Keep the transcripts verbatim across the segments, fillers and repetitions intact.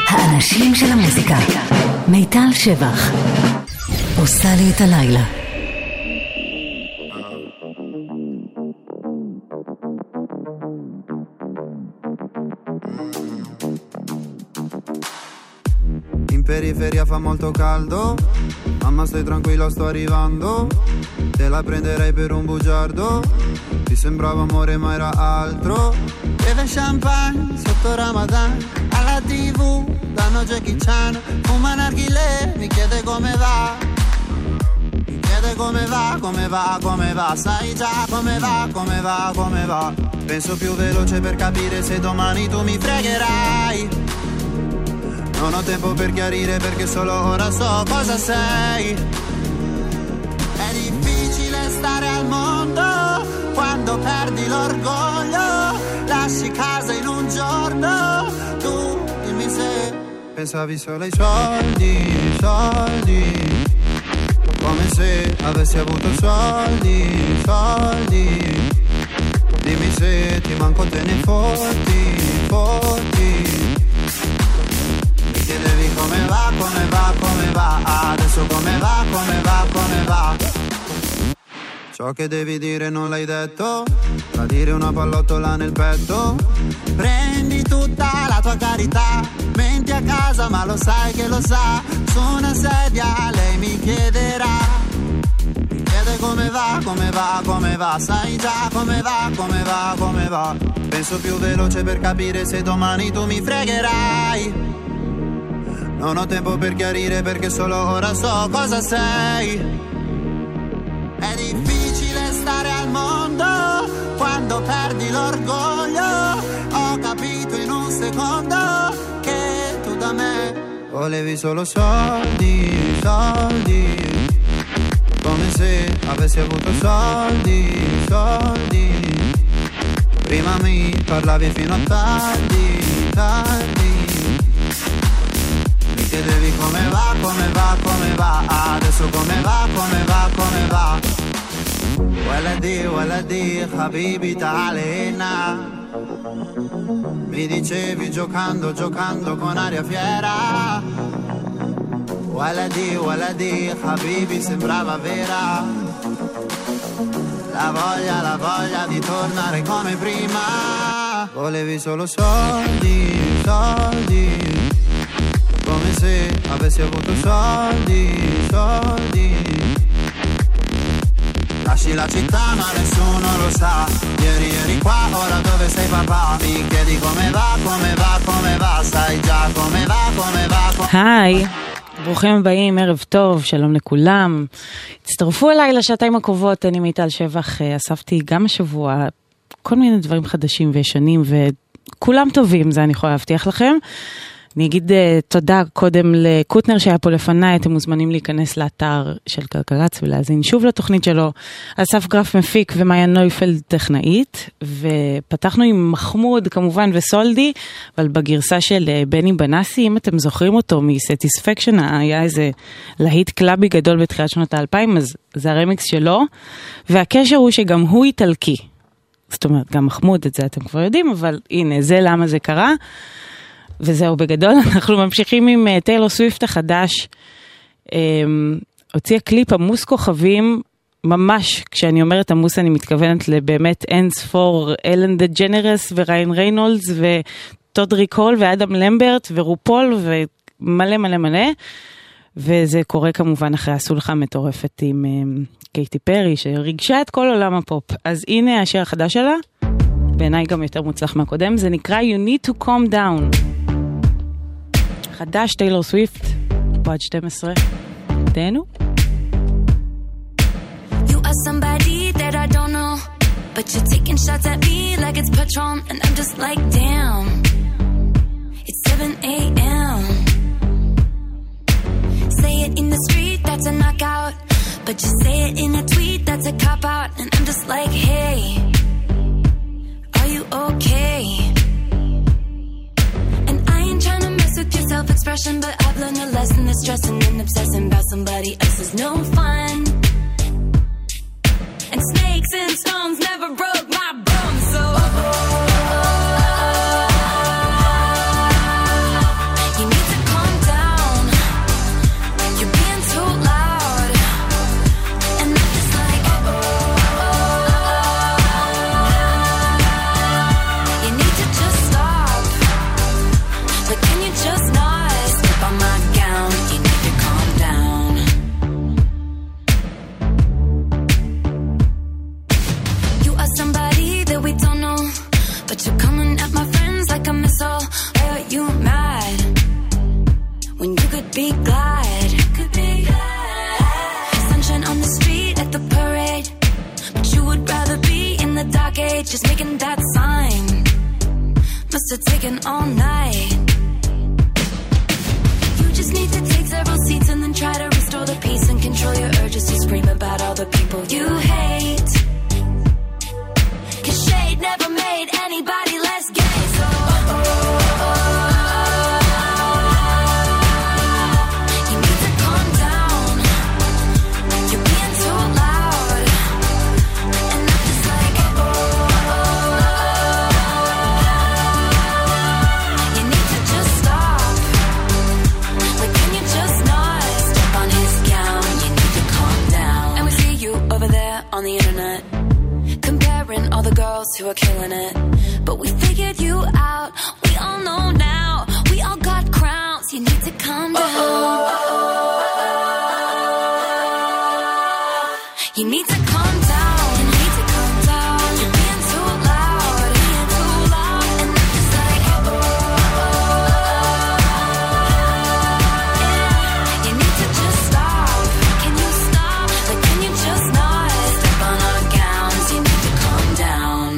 האנשים של המוזיקה. מיטל שבח עושה לי את הלילה. In periferia fa molto caldo, mamma stai tranquilla sto arrivando, te la prenderei per un bugiardo, ti sembrava amore ma era altro. Beve champagne sotto Ramadan, alla tv danno Jackie Chan, fuma narghilè, mi chiede come va, mi chiede come va, come va, come va, sai già come va, come va, come va. Penso più veloce per capire se domani tu mi fregherai. Non ho tempo per chiarire perché solo ora so cosa sei. È difficile stare al mondo quando perdi l'orgoglio, lasci casa in un giorno, tu dimmi se pensavi solo ai soldi, soldi, come se avessi avuto soldi, soldi, dimmi se ti manco te ne fotti, fotti. Mi chiedevi come va, come va, come va, adesso come va, come va, come va. Ciò che devi dire non l'hai detto, tradire una pallottola nel petto. Prendi tutta la tua carità, menti a casa ma lo sai che lo sa. Su una sedia lei mi chiederà, mi chiede come va, come va, come va. Sai già come va, come va, come va. Penso più veloce per capire se domani tu mi fregherai. Non ho tempo per chiarire perché solo ora so cosa sei. È difficile stare al mondo quando perdi l'orgoglio. Ho capito in un secondo che tu da me volevi solo soldi, soldi, come se avessi avuto soldi, soldi. Prima mi parlavi fino a tardi, tardi. Mi chiedevi come va, come va, come va, adesso come va, come va, come va. Waladi, waladi, habibi ta'alena. Mi dicevi giocando, giocando con aria fiera. Waladi, waladi, habibi sembrava vera. La voglia, la voglia di tornare come prima. Volevi solo soldi, soldi, come se avessi avuto soldi, soldi. Lasci la città ma nessuno lo sa. Ieri eri qua, ora dove sei papà? Mi chiedi come va, come va, come va. Sai già come va, come va, come... היי, ברוכים הבאים, ערב טוב, שלום לכולם. תצטרפו אליי לשעתיים הקרובות, אני מיטל שבח, אספתי גם השבוע כל מיני דברים חדשים וישנים, וכולם טובים, זה אני יכולה להבטיח לכם. אני אגיד uh, תודה קודם לקוטנר שהיה פה לפניי, אתם מוזמנים להיכנס לאתר של קלקלץ ולהזין שוב לתוכנית שלו. אסף גרף מפיק ומאיה נויפלד טכנאית, ופתחנו עם מחמוד כמובן וסולדי, אבל בגרסה של uh, בני בנסי, אם אתם זוכרים אותו מסטיספקשן, היה איזה להיט קלאבי גדול בתחילת שנות האלפיים, אז זה הרמיקס שלו, והקשר הוא שגם הוא איטלקי. זאת אומרת, גם מחמוד, את זה אתם כבר יודעים, אבל הנה, זה למה זה קרה. וזהו בגדול, אנחנו ממשיכים עם טיילור סוויפט החדש, הוציאה קליפ עמוס כוכבים, ממש, כשאני אומרת עמוס אני מתכוונת לבאמת אנס פור אלן דה ג'נרס וריין ריינולדס וטודריק הול ואדם למברט ורופול ומלא מלא מלא, וזה קורה כמובן אחרי הסולחה מטורפת עם קייטי פרי שריגשה את כל עולם הפופ. אז הנה השיר החדש שלה, בעיניי גם יותר מוצלח מהקודם, זה נקרא You Need to Calm Down. חדש, טיילור סוויפט, פה עד שתים עשרה. תהנו. You are somebody that I don't know, but you're taking shots at me like it's Patron, and I'm just like, damn, it's seven a.m. Say it in the street, that's a knockout, but you say it in a tweet, that's a cop-out, and I'm just like, hey, are you okay? And I ain't trying to mess with your self-expression, but I've learned a lesson that stressing and obsessing about somebody else is no fun. And snakes and stones never broke my bones, so you need Like, can you just not slip on my gown? You need to calm down. You are somebody that we don't know, but you're coming at my friends like a missile. Why are you mad when you could be glad? Could be glad. Sunshine on the street at the parade, but you would rather be in the dark age, just making that sign. Must have taken all night. You just need to take several seats and then try to restore the peace and control your urges to scream about all the people you hate. 'Cause shade never made anybody less gay. So oh, oh, oh, oh. You need to calm down. You're being too loud. And I'm just like oh, oh, oh. You need to just stop. Like, can you just not step on his gown? You need to calm down. And we see you over there on the internet, comparing all the girls who are killing it. But we figured you out. We all know now. We all got crowns. You need to calm down. You need to calm down. You need to calm down. You're being too loud. Being too loud. And I'm just like oh, yeah. You need to just stop. Can you stop? Like, can you just not step on our gowns? You need to calm down.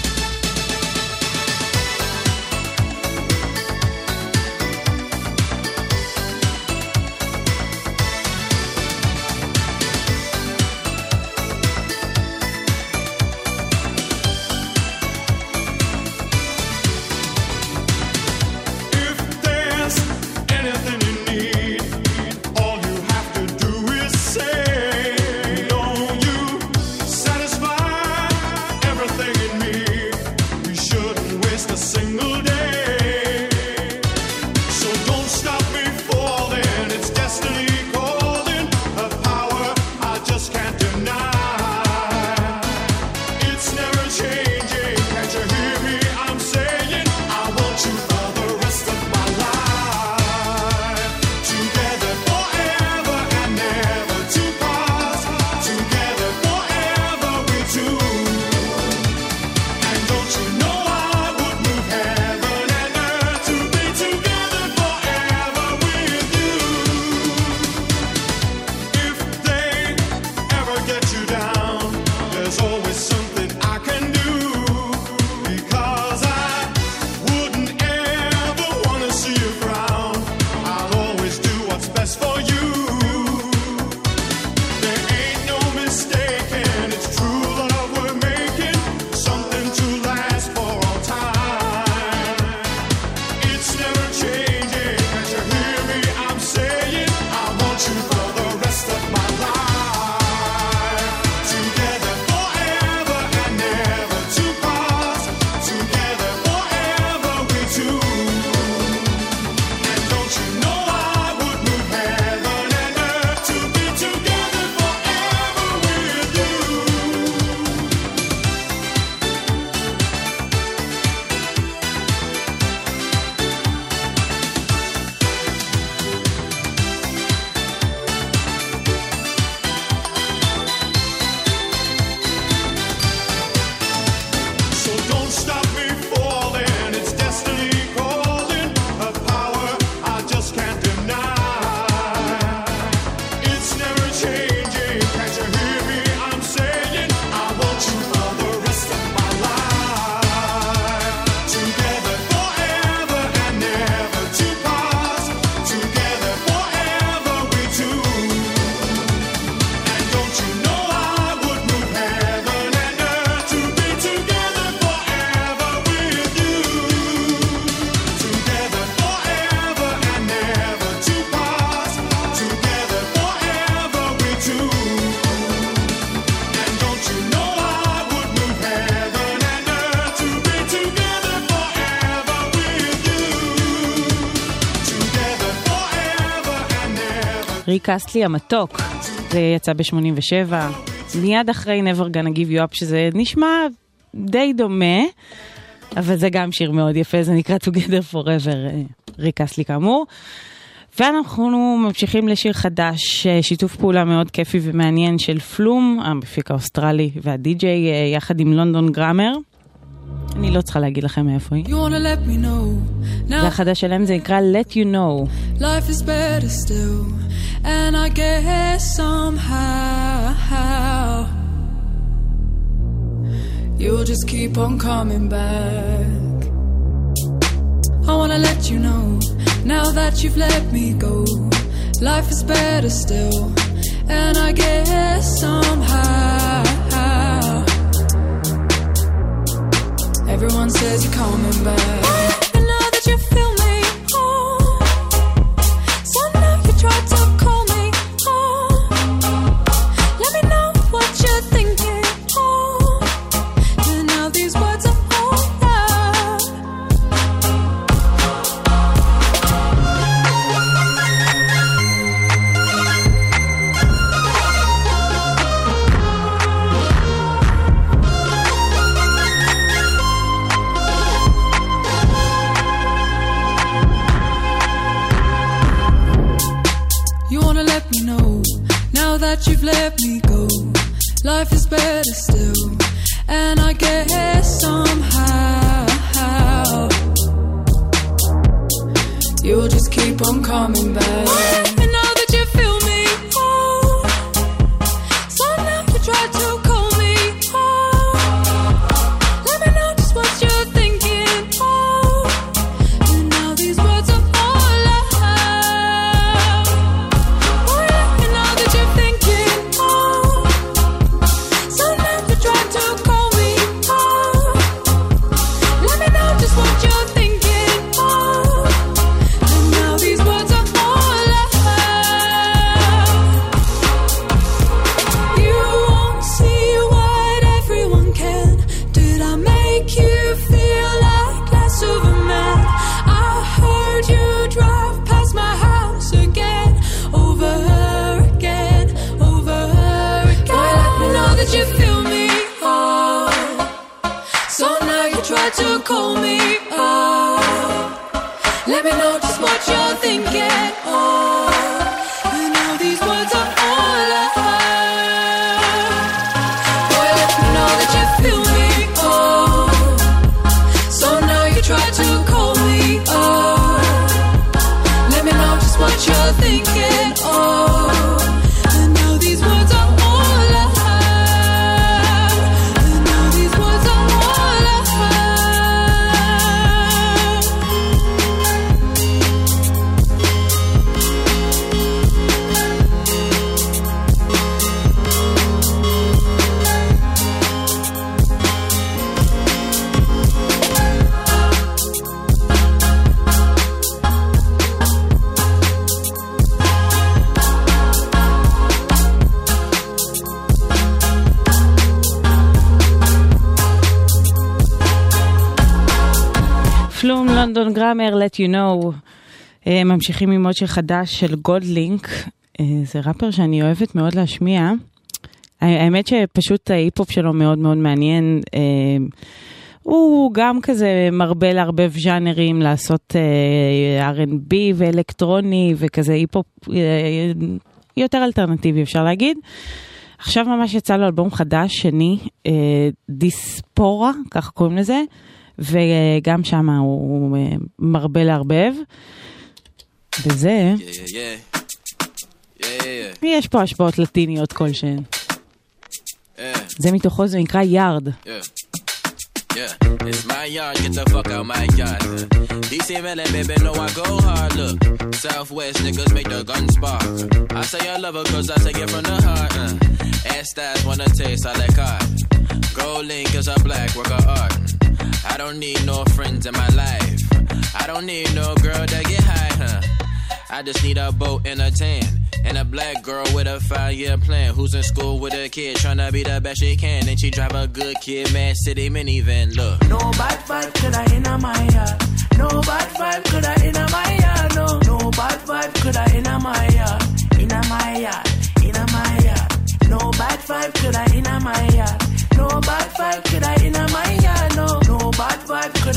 ריק אסטלי המתוק, זה יצא ב-שמונים ושבע, מיד אחרי Never Gonna Give You Up, שזה נשמע די דומה, אבל זה גם שיר מאוד יפה, זה נקרא Together Forever, ריק אסלי כאמור. ואנחנו ממשיכים לשיר חדש, שיתוף פעולה מאוד כיפי ומעניין של פלום, המפיק האוסטרלי והדי-ג'יי, יחד עם לונדון גראמר. אני לא צריכה להגיד לכם מאיפה היא. זה החדש שלהם, זה נקרא Let You Know. Life is better still, and I guess somehow you'll just keep on coming back. I wanna let you know, now that you've let me go, life is better still, and I guess somehow everyone says you're coming back. And now that you feel me, oh, so now you try to call me, oh, let me know what you're thinking, oh, and now these words are all loud. That you've let me go, life is better still, and I guess somehow you'll just keep on coming back. And now that you feel me, oh, so now you try to call me, oh, let me know just what you're thinking, oh, and now these words are all loud. Oh yeah, and now that you're thinking, oh, so now you try to call me, oh, let me know just what you're thinking, oh, and now these words are all loud. You won't see what everyone can. Did I make you feel like less of a man? I heard you drive past my house again, over again, over again. Boy, let me know that you feel me, oh, so now you try to call me, oh, let me know just what you're thinking, oh, and now these words are all loud. Boy, let me know that you feel me, oh, so now you try to call me, oh, let me know just what you're thinking, oh, and now these words are all loud, and now these words are all loud. פלום, לונדון גראמר, Let You Know. אה, ממשיכים עם עוד שיר חדש של גולדלינק. אה, זה ראפר שאני אוהבת מאוד להשמיע. האמת שפשוט ההיפ-הופ שלו מאוד מאוד מעניין. אה, הוא גם כזה מרבה להרבב ז'אנרים, לעשות אה, אר אנד בי ואלקטרוני וכזה היפ-הופ אה, יותר אלטרנטיבי אפשר להגיד. עכשיו ממש יצא לו אלבום חדש, שני, אה, דיספורה, כך קוראים לזה. וגם שם הוא מרבה להרבב. וזה, Yeah, yeah, yeah. Yeah, yeah, יש פה השפעות לטיניות כלשהן. yeah. זה מתוכו, זה נקרא יארד. Yeah. Yeah, it's my yard, get the fuck out my yard. D C Mellon, baby, know I go hard, look. Southwest niggas make the gun spark. I say I love her cause I take it from the heart. Uh. Ass stars wanna taste, I like hard. Gold link is a black work of art. I don't need no friends in my life. I don't need no girl that get high, huh? I just need a boat and a tan. And a black girl with a five-year plan. Who's in school with a kid, tryna be the best she can. And she drive a good kid, Mad City minivan, look. No bad vibe could I in my yard. No bad vibe could I in my yard. No, no bad vibe could I in my yard. In my yard, in my yard. No bad vibe could I in my yard. No bad vibe could I in my yard. No, no bad vibe could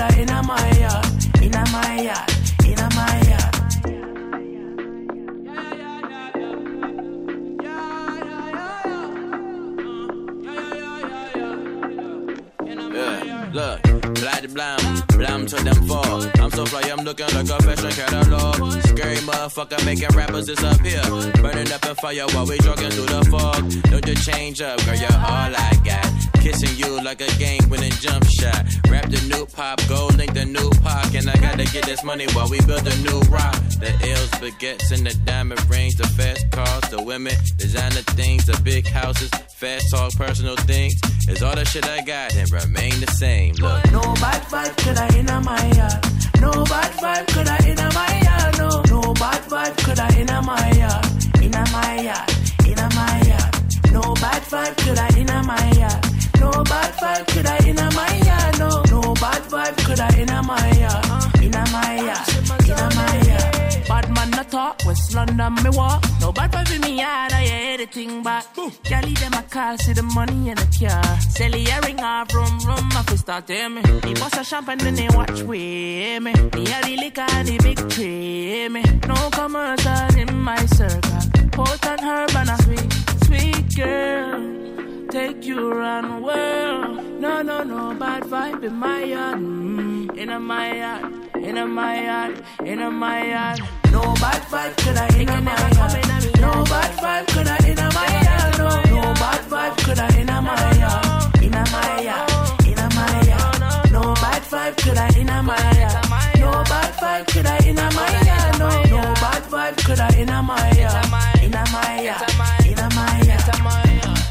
bad blam, blam to them fall. I'm so fly, I'm looking like a fashion catalog. Scary motherfucker making rappers disappear. Burning up in fire while we jogging through the fog. Don't you change up, girl, you're all I got. Kissing you like a game-winning jump shot. Rap the new pop, gold link the new pop. And I gotta get this money while we build a new rock. The L's, baguettes, and the diamond rings. The fast cars, the women, designer things. The big houses, fast talk, personal things. It's all the shit I got and remain the same. Look. No bad vibe could I in my yard. No bad vibe could I in my yard. No, no bad vibe could I in my yard. In my yard, in my yard. No bad vibe could I in my yard. No bad vibe could I in my yard. No, no bad vibe could I in my yard. In my yard, in my yard. Bad man no talk, West London me walk. No bad vibe in me yard, I hear everything back. Gally them a call, see the money in the car. Sally a ring off, rum rum, my fist start hear me. He bust a champagne, then they watch with me. Me a the liquor, the big tray me. No commercial in my circle. Potent herb and a sweet, sweet girl. Take you around the world. No, no, no bad vibe in my yard. Mm, in my yard, in my yard, in my yard. No bad vibe could I in my yard. No bad vibe could I in my yard. No, no bad vibe could I in my yard. In my yard, in my yard. No bad vibe could I in my yard. No bad vibe could I in my yard. No, no bad vibe could I in my yard. In my yard, in my yard.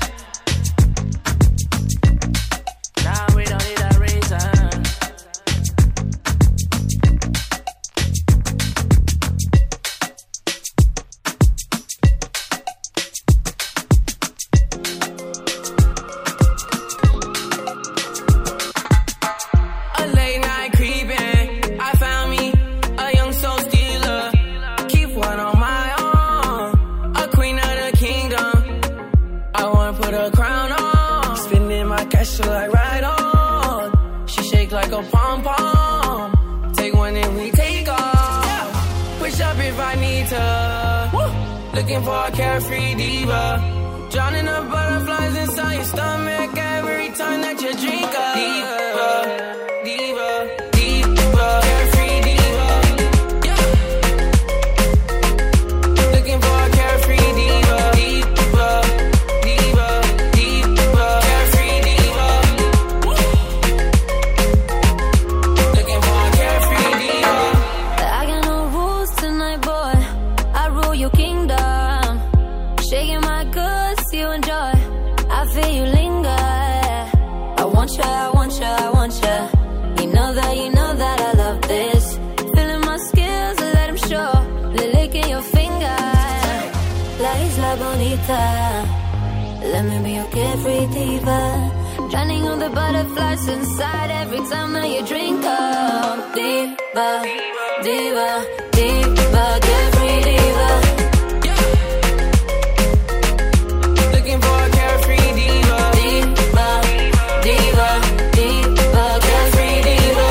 Now we don't need a reason. A late night creeping, I found me a young soul stealer. Keep one on my arm, a queen of the kingdom. I wanna put a crown on, spinning my cash like right on. She shake like a pom-pom. Take one and we take off. Push up if I need to. Looking for a carefree diva. Drowning the butterflies inside your stomach every time that you drink up. Diva, diva, diva, carefree diva. Yeah. Looking for a carefree diva. Diva, diva, diva, carefree diva. Looking for a carefree diva. I got no rules tonight, boy. I rule your kingdom. Shaking my goods, you enjoy. I feel you linger. I want you, I want you, I want you. You know that, you know that I love this. Feeling my skills, let them show. Licking your finger. La Isla Bonita. Let me be your carefree diva. Drowning on the butterflies inside every time that you drink up. Diva, diva, diva, carefree diva. Looking for a carefree diva. Diva, diva, diva, carefree diva.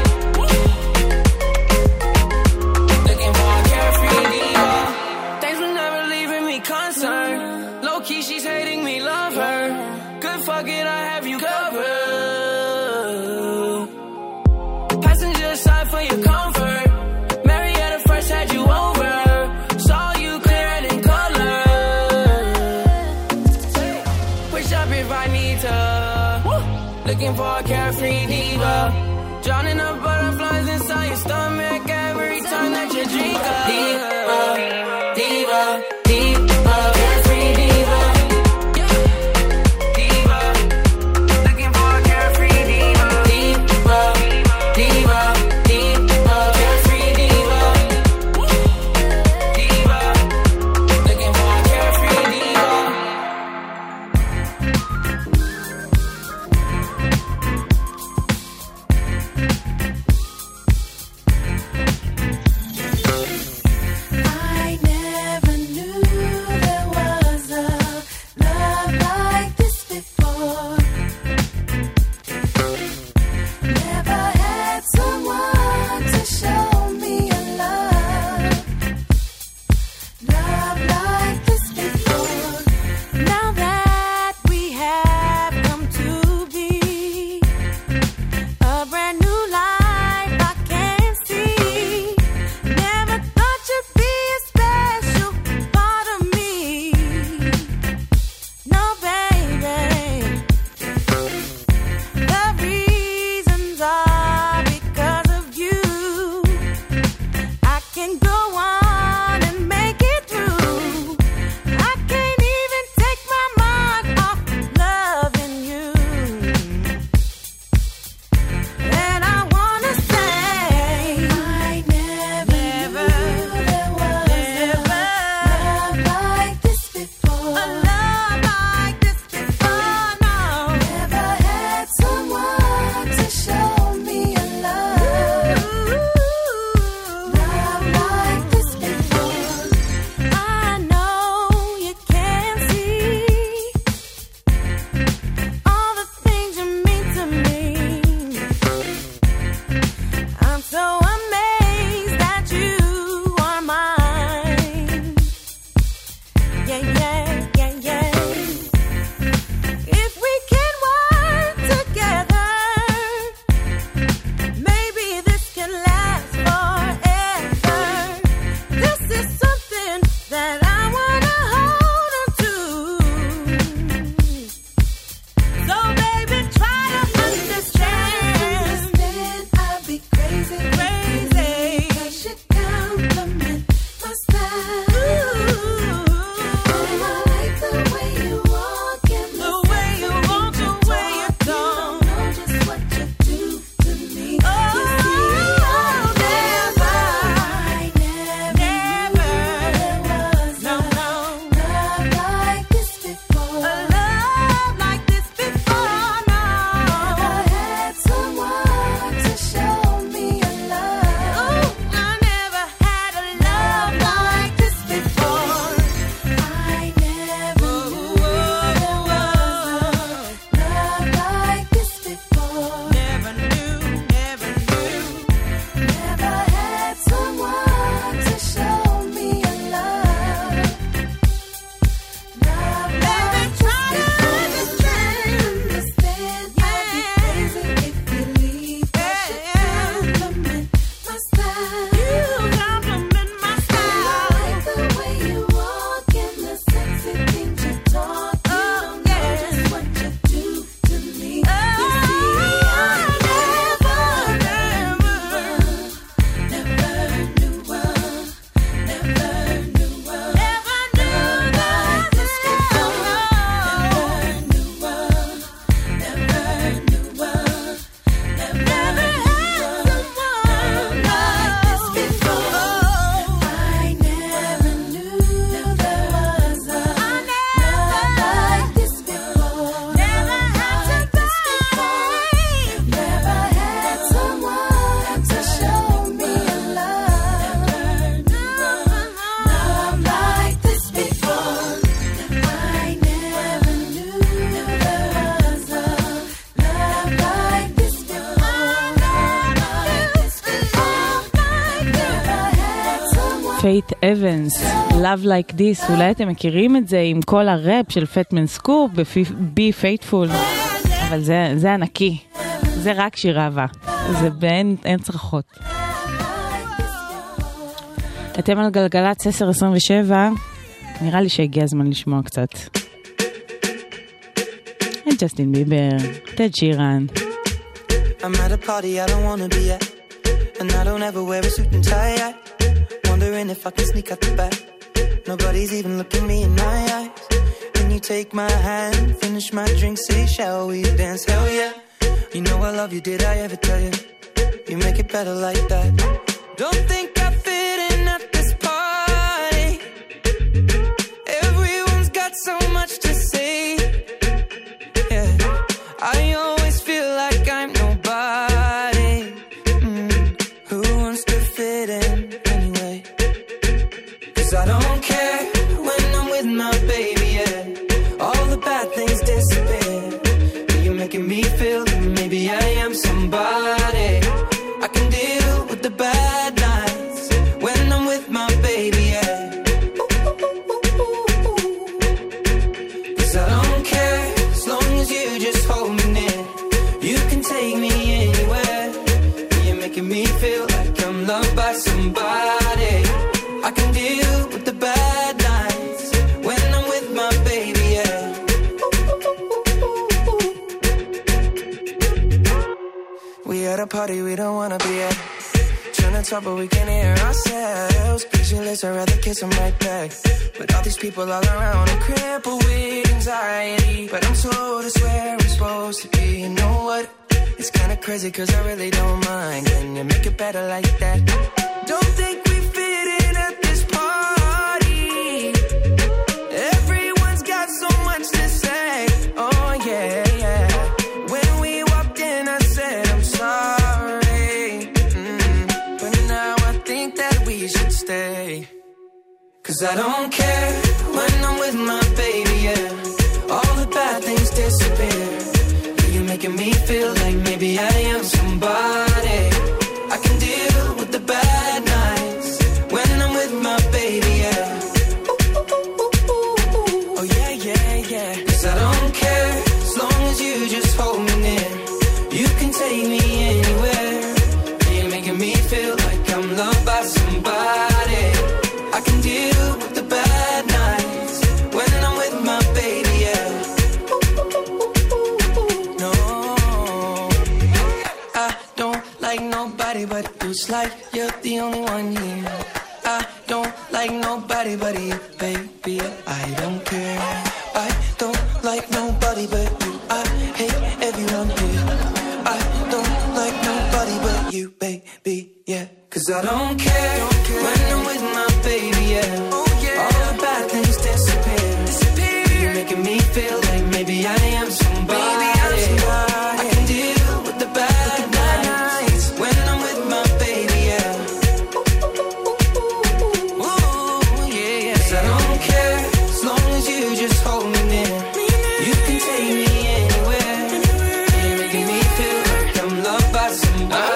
Looking for a carefree diva. Thanks for never leaving me concerned. Low key, she's hating me, love her. Good fuck it, I have you covered. Passenger side for your comfort. Marietta first had you over. Saw you clear in color. Push up if I need to. Looking for a carefree diva. Drowning the butterflies inside your stomach every time that you drink up. Diva, diva, diva, carefree diva. Diva, looking for a carefree diva. Diva, diva, diva, carefree diva. Diva, looking for a carefree diva. פייט אבנס, Love Like This. אולי אתם מכירים את זה עם כל הראפ של פטמן סקופ ב-Be Faithful, אבל זה, זה ענקי, זה רק שיר אהבה, זה בין אין צרכות. אתם על גלגלת עשר עשרים ושבע, נראה לי שהגיע הזמן לשמוע קצת. ג'סטין ביבר, טד שירן. I'm at a party I don't wanna be at, and I don't ever wear a suit and tie yet. Wondering if I can sneak out the back. Nobody's even looking me in my eyes. Can you take my hand, finish my drink, say shall we dance? Hell yeah. You know I love you, did I ever tell you? You make it better like that. Don't think I fit in at this party. Everyone's got so much to say. Yeah, I always feel like I'm nobody. Mm. Who wants to fit in anyway? 'Cause I don't care when I'm with my baby, yeah. All the bad things disappear. You're making me feel that maybe I am somebody. I can deal with the bad nights when I'm with my baby, yeah. 'Cause I don't care as long as you just hold me near. You can take me anywhere. You're making me feel like I'm loved by somebody. I can deal with the bad nights when I'm with my baby, yeah. We at a party we don't wanna be at. Trying to talk but we can't hear ourselves. Pictureless, I'd rather kiss them right back. But all these people all around, I'm crippled with anxiety. But I'm told it's where I'm supposed to be. You know what? It's kinda crazy 'cause I really don't mind. Can you make it better like that? Don't think we fit in at this party. Everyone's got so much to say. Oh yeah, yeah. When we walked in I said I'm sorry. Mm. But now I think that we should stay. 'Cause I don't care when I'm with my baby, yeah. All the bad things disappear. You're making me feel like maybe I am somebody. I can deal with the bad nights when I'm with my baby, yeah. Oh yeah, yeah, yeah. 'Cause I don't care as long as you just hold me near. You can take me anywhere. You're making me feel like I'm loved by somebody. I can deal with the bad nights when I'm with my baby, yeah. No, I don't like nobody but you. It's like you're the only one here. I don't like nobody but you, baby. I don't care. I don't like nobody but you. I hate everyone here. I don't like nobody but you, baby, yeah. 'Cause I don't care, don't care when I'm with my baby, yeah. Oh, yeah. All the bad things disappear. disappear. You're making me feel like maybe I am somebody. Maybe I'm somebody. I can deal with the bad, with the bad nights when I'm with my baby, yeah. Ooh, yeah, yeah. 'Cause I don't care as long as you just hold me near. You can take me anywhere. You're making me feel like I'm loved by somebody.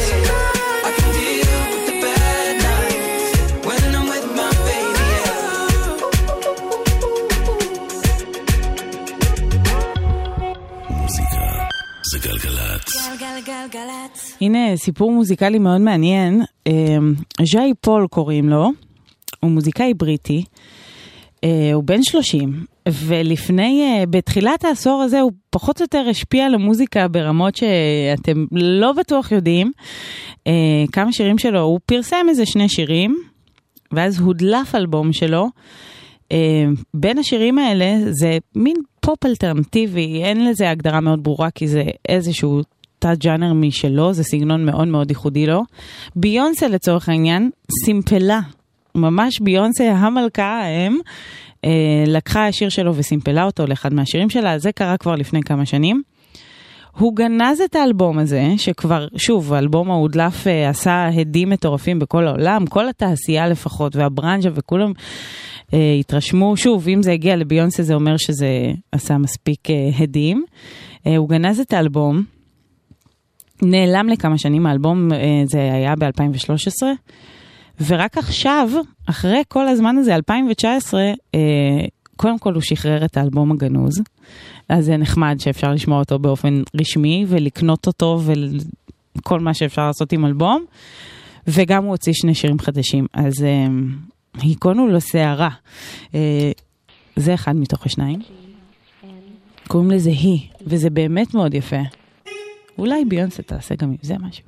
הנה סיפור מוזיקלי מאוד מעניין. ז'אי פול קוראים לו, הוא מוזיקאי בריטי, הוא בן שלושים, ולפני, בתחילת העשור הזה הוא פחות או יותר השפיע על המוזיקה ברמות שאתם לא בטוח יודעים. כמה שירים שלו, הוא פרסם איזה שני שירים, ואז הודלף אלבום שלו. בין השירים האלה זה מין פופ אלטרנטיבי, אין לזה הגדרה מאוד ברורה כי זה איזשהו תת ג'אנר משלו, זה סגנון מאוד מאוד ייחודי לו. ביונסה לצורך העניין סימפלה, ממש ביונסה המלכה האם, אה, לקחה השיר שלו וסימפלה אותו לאחד מהשירים שלה, זה קרה כבר לפני כמה שנים. הוא גנז את האלבום הזה, שכבר, שוב, האלבום ההודלף אה, עשה הדים מטורפים בכל העולם, כל התעשייה לפחות, והברנז'ה וכולם אה, התרשמו, שוב, אם זה הגיע לביונסה זה אומר שזה עשה מספיק אה, הדים. אה, הוא גנז את האלבום, נעלם לכמה שנים, האלבום אה, זה היה ב-אלפיים ושלוש עשרה, ורק עכשיו, אחרי כל הזמן הזה, אלפיים תשע עשרה, קודם כל הוא שחרר את האלבום הגנוז, אז זה נחמד שאפשר לשמוע אותו באופן רשמי, ולקנות אותו, וכל מה שאפשר לעשות עם אלבום, וגם הוא הוציא שני שירים חדשים, אז היכונו לו שערה. זה אחד מתוך השניים. קוראים לזה היא, וזה באמת מאוד יפה. אולי ביונסה תעשה גם עם זה משהו.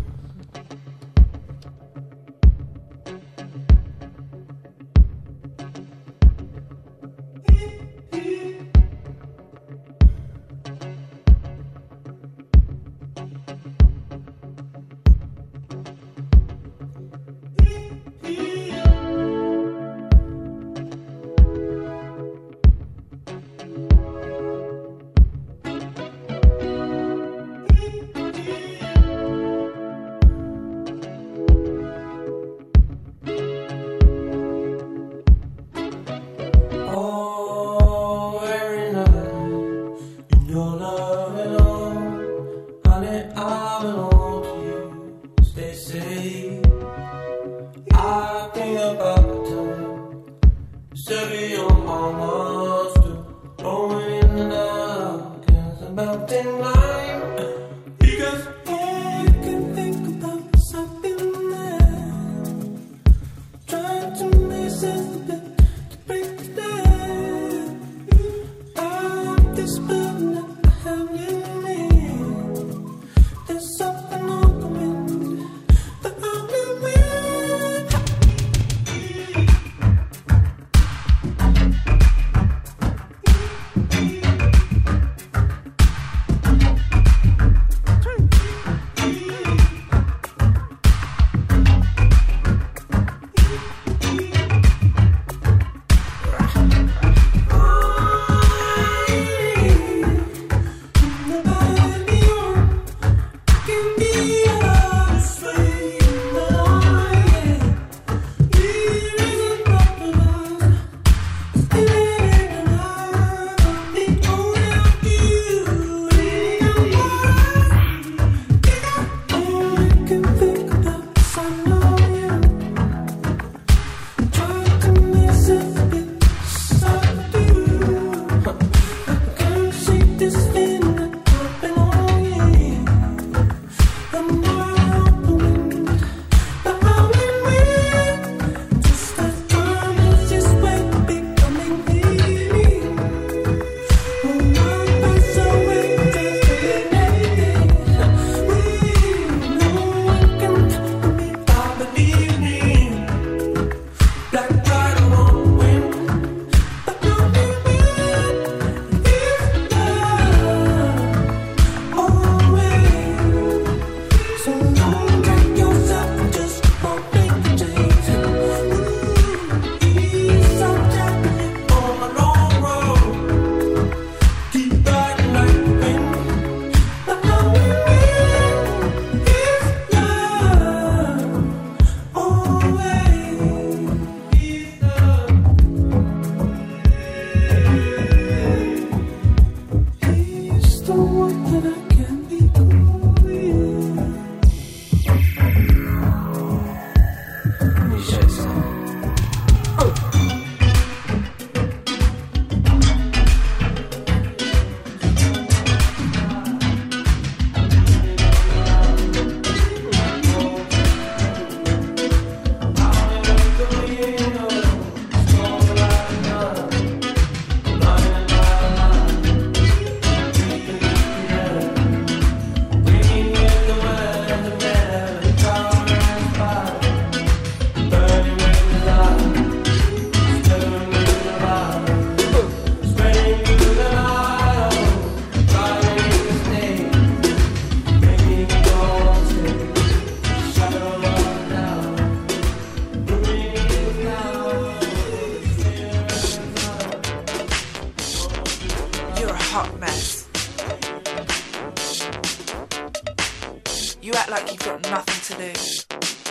You act like you've got nothing to lose.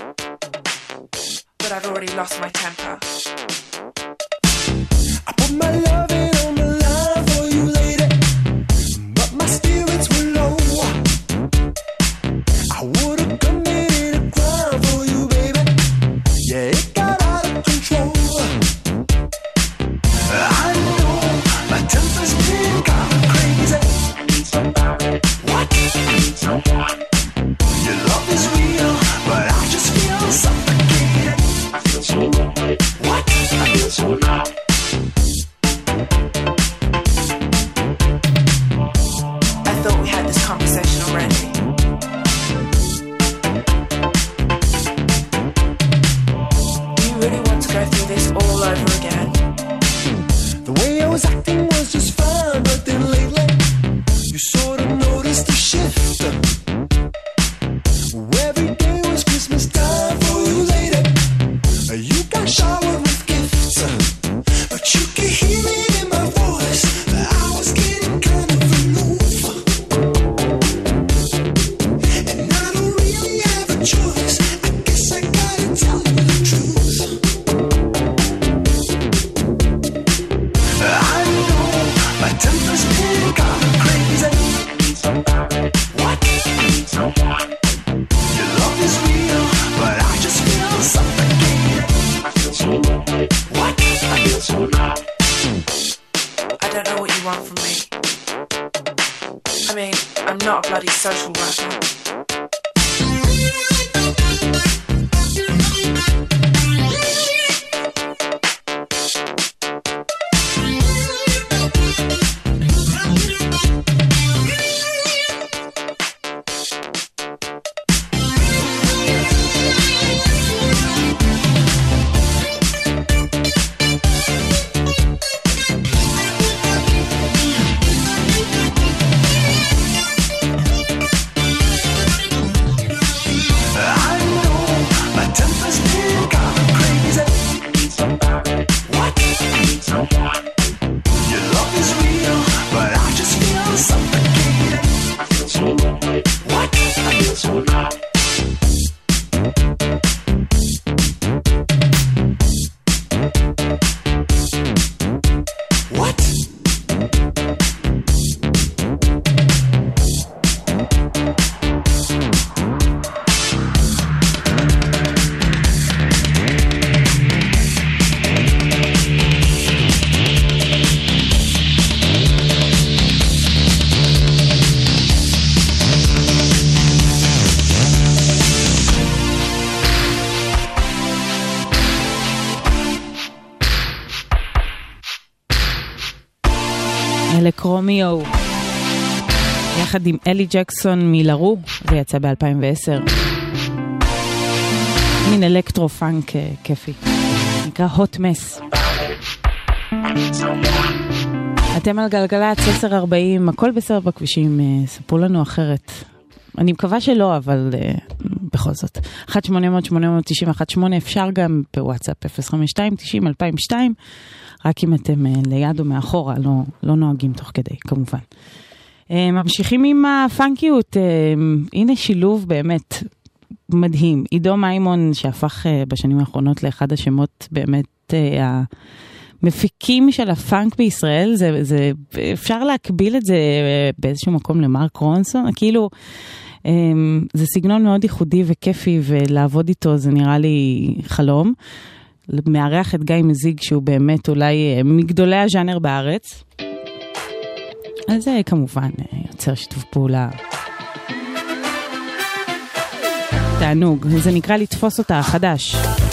But I've already lost my temper. I put my loving on the line for you, lady, but my spirits were low. I would've committed a crime for you, baby. Yeah. do this all over again. The way I was acting was just fine, but then lately you sort of noticed a shift. Every day was Christmas time for you, lady. You got showered with gifts, but you could hear it in my voice that I was getting kind of aloof. And I don't really have a choice. I guess I gotta tell you the truth. I know my temper's been kind of crazy. What? Your love is real, but I just feel suffocated. What? I feel so loud. I don't know what you want from me. I mean, I'm not a bloody social worker. קרומיו יחד עם אלי ג'קסון מלרו, זה יצא ב-אלפיים ועשר, מין אלקטרו פאנק כיפי, נקרא hot mess. אתם על גלגלת עשר ארבעים, הכל בסדר בכבישים, ספרו לנו אחרת, אני מקווה שלא, אבל uh, בכל זאת אחת שמונה אפס אפס שמונה תשע אחת שמונה, אפשר גם בוואטסאפ אפס חמש שתיים תשעים אלפיים ושתיים, רק אם אתם uh, ליד או מאחורה, לא, לא נוהגים תוך כדי, כמובן. Uh, ממשיכים עם הפאנקיות, uh, הנה שילוב באמת מדהים. עידו מימון שהפך uh, בשנים האחרונות לאחד השמות באמת uh, המפיקים של הפאנק בישראל, זה, זה, אפשר להקביל את זה uh, באיזשהו מקום למרק רונסון, כאילו um, זה סגנון מאוד ייחודי וכיפי, ולעבוד איתו זה נראה לי חלום. מארח את גיא מזיג שהוא באמת אולי מגדולי הז'אנר בארץ, אז זה כמובן יוצר שיתוף פעולה תענוג. זה נקרא לתפוס אותה חדש.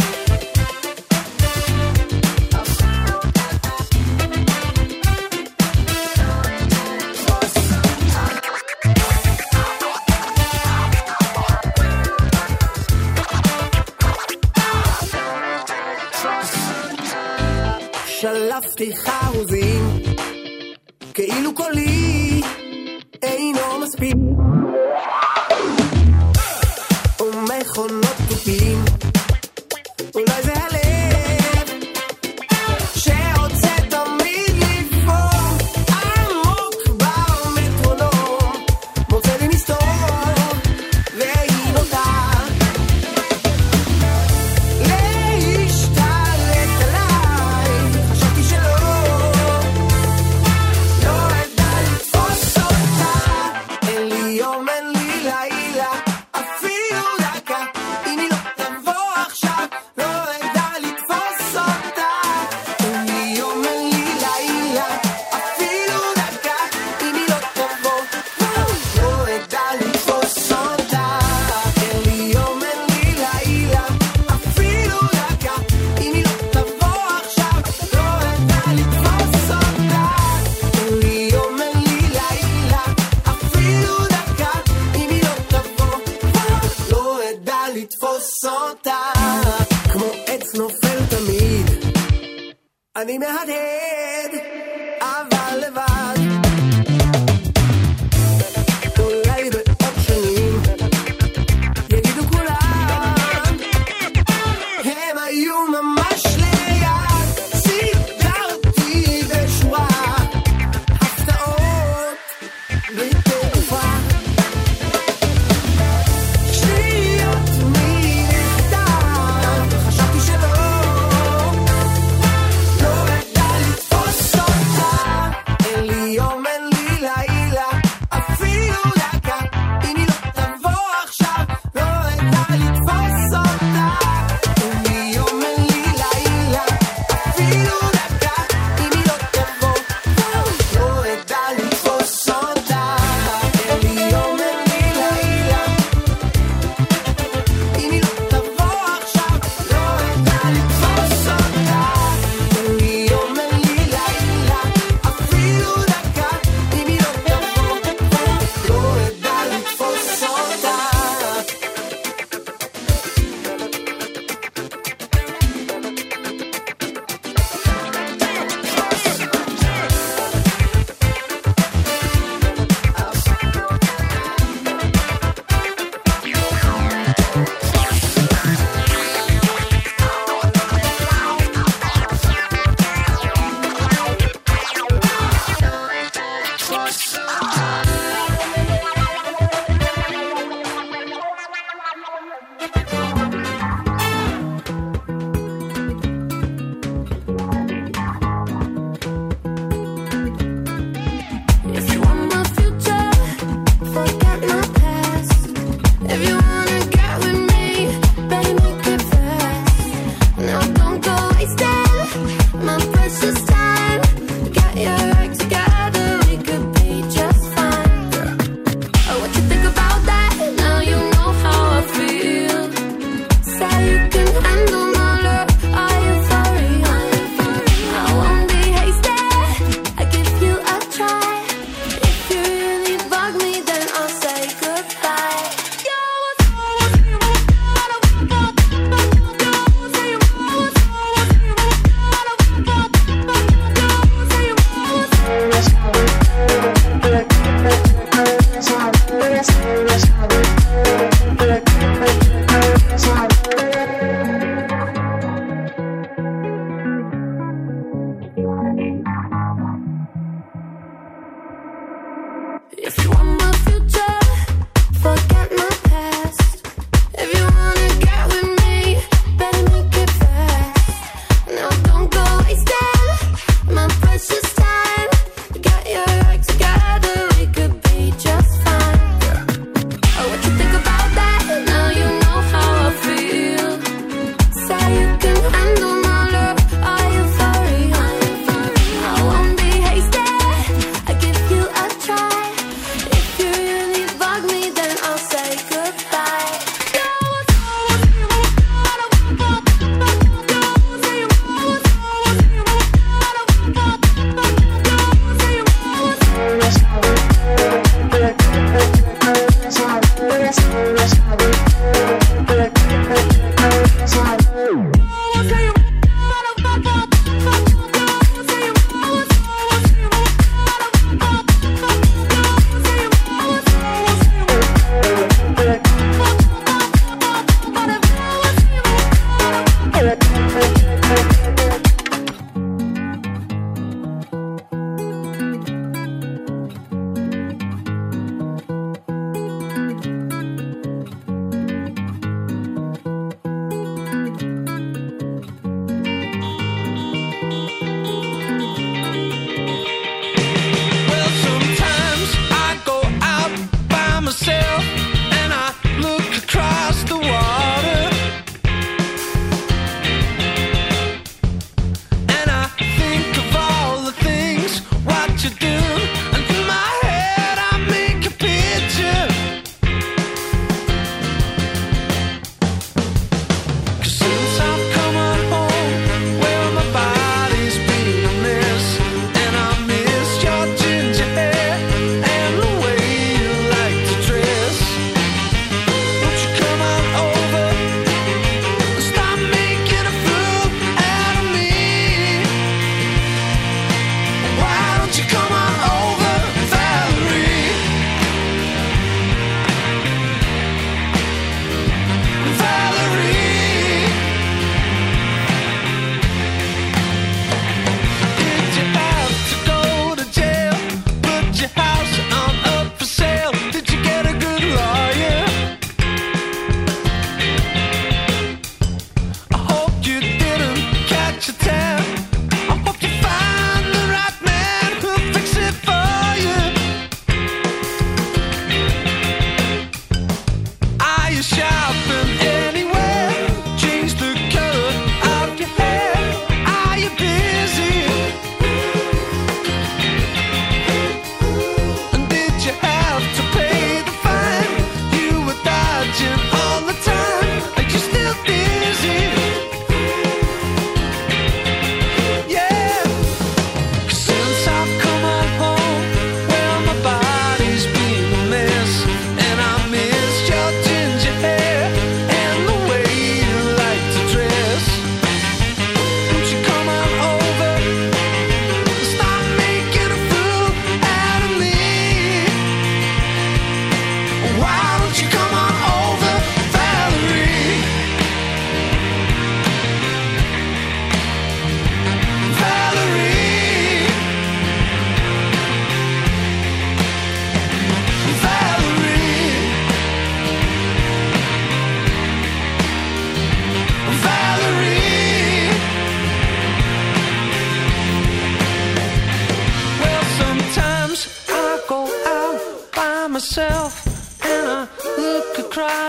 שלפתי חרוזים כאילו קולי אינו מספיק ומכונות תופים, אולי זה הלב שרוצה תמיד לפעול עמוק במטרונום, מוצא לי מסתור והיא נוטה להשתלט עליי. חשבתי שלא, לא ידע לתפוס אותה, אין לי יום אני מהדהד, אבל לבד. אולי בעוד שנים יגידו כולם, הם היו ממש ליד. סידרתי בשורה הפתעות בטירוף. שניות ממכתב, חשבתי שלא, לא ידע לתפוס אותי.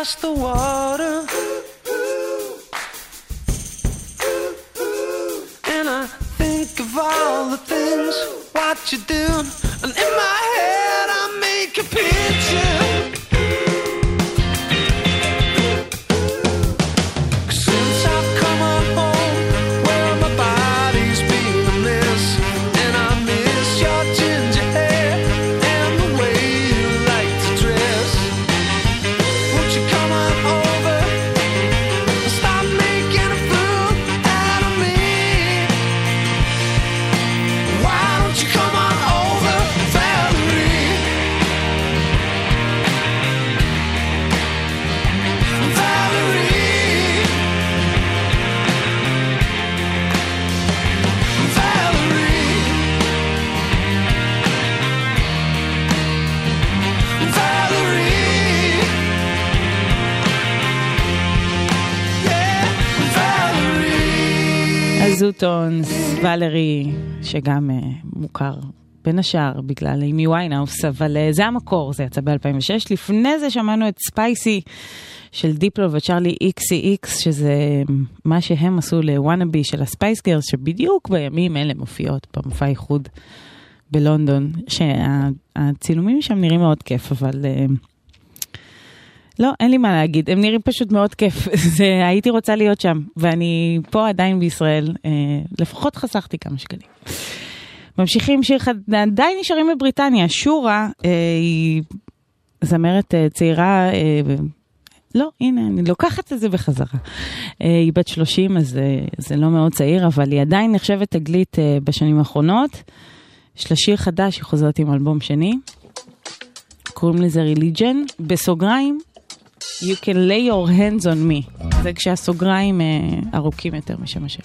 across the water. And I think of all the things, what you do, and in my head I make a picture. Since I've come on home, well my body's been a mess, and I miss your ginger hair and the way you like to dress. Won't you come on over and stop making a fool out of me? Why don't you come on over, Valerie? Valerie, Valerie, Valerie, yeah, Valerie. הזוטונס, ולרי, שגם uh, מוכר בין השאר בגלל אימי ויינהאוס, אבל uh, זה המקור, זה יצא ב-אלפיים ושש. לפני זה שמענו את ספייסי של דיפלו וצ'רלי איקסי איקס, שזה מה שהם עשו לוואנאבי של הספייס גירס, שבדיוק בימים אלה מופיעות במופע איחוד בלונדון, שהצילומים שם נראים מאוד כיף, אבל uh, לא, אין לי מה להגיד, הם נראים פשוט מאוד כיף, זה, הייתי רוצה להיות שם, ואני פה עדיין בישראל, אה, לפחות חסכתי כמה שקלים. ממשיכים שיר חד... עדיין נשארים בבריטניה, שורה, אה, היא זמרת אה, צעירה, אה, לא, הנה, אני לוקחת את זה בחזרה. אה, היא בת שלושים, אז אה, זה לא מאוד צעיר, אבל היא עדיין נחשבת תגלית אה, בשנים האחרונות. יש לה שיר חדש, היא חוזרת עם אלבום שני, קוראים לזה Religion, בסוגריים, You can lay your hands on me. זה כשהסוגריים אה, ארוכים יותר משם השם.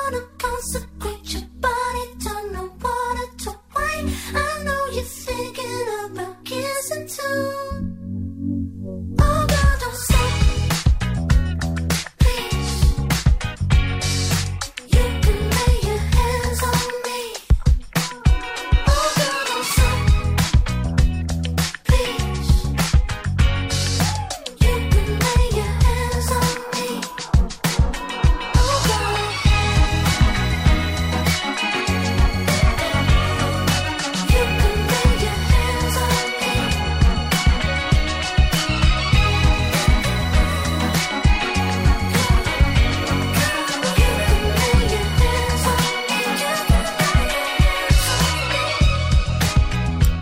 Consecrate your body, turn the water to wine. I know you're thinking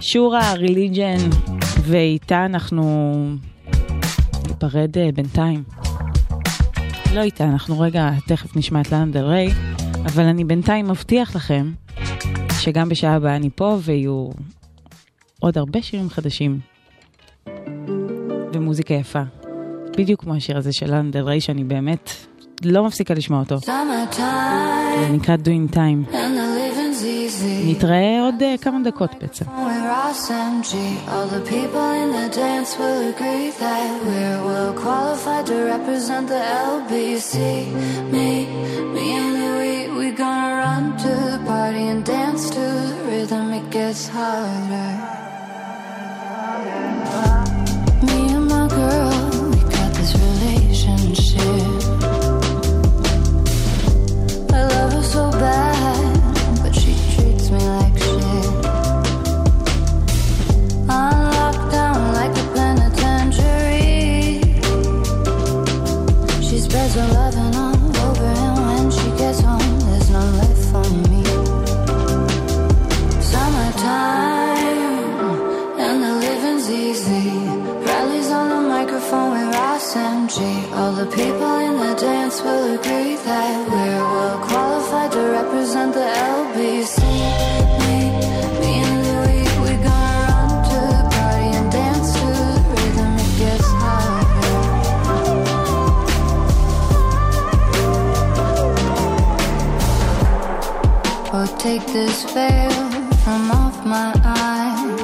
שורה, ריליג'ן, ואיתה אנחנו ניפרד בינתיים. לא איתה, אנחנו רגע תכף נשמע את לאנה דל ריי, אבל אני בינתיים מבטיח לכם שגם בשעה הבאה אני פה ויהיו עוד הרבה שירים חדשים ומוזיקה יפה. בדיוק כמו השיר הזה של לאנה דל ריי שאני באמת לא מפסיקה לשמוע אותו. זה נקרא Doing Time. נתראה עוד uh, כמה דקות בעצם. All the people in the dance will agree that we're well qualified to represent the L B C. Me, me and Louis, we gonna run to the party and dance to the rhythm. It gets harder. Me and my girl, we got this relationship. I love her so bad, but she treats me like shit. I'm locked down like a penitentiary. She spreads her loving all over, and when she gets home, there's none left for me. Summertime, and the living's easy. Rallies on the microphone with Ross M G. All the people in the dance will agree that we're well qualified to represent the L B C. Me, me and Louis, we gonna run to the party and dance to the rhythm. It gets harder. Oh, take this veil from off my eyes.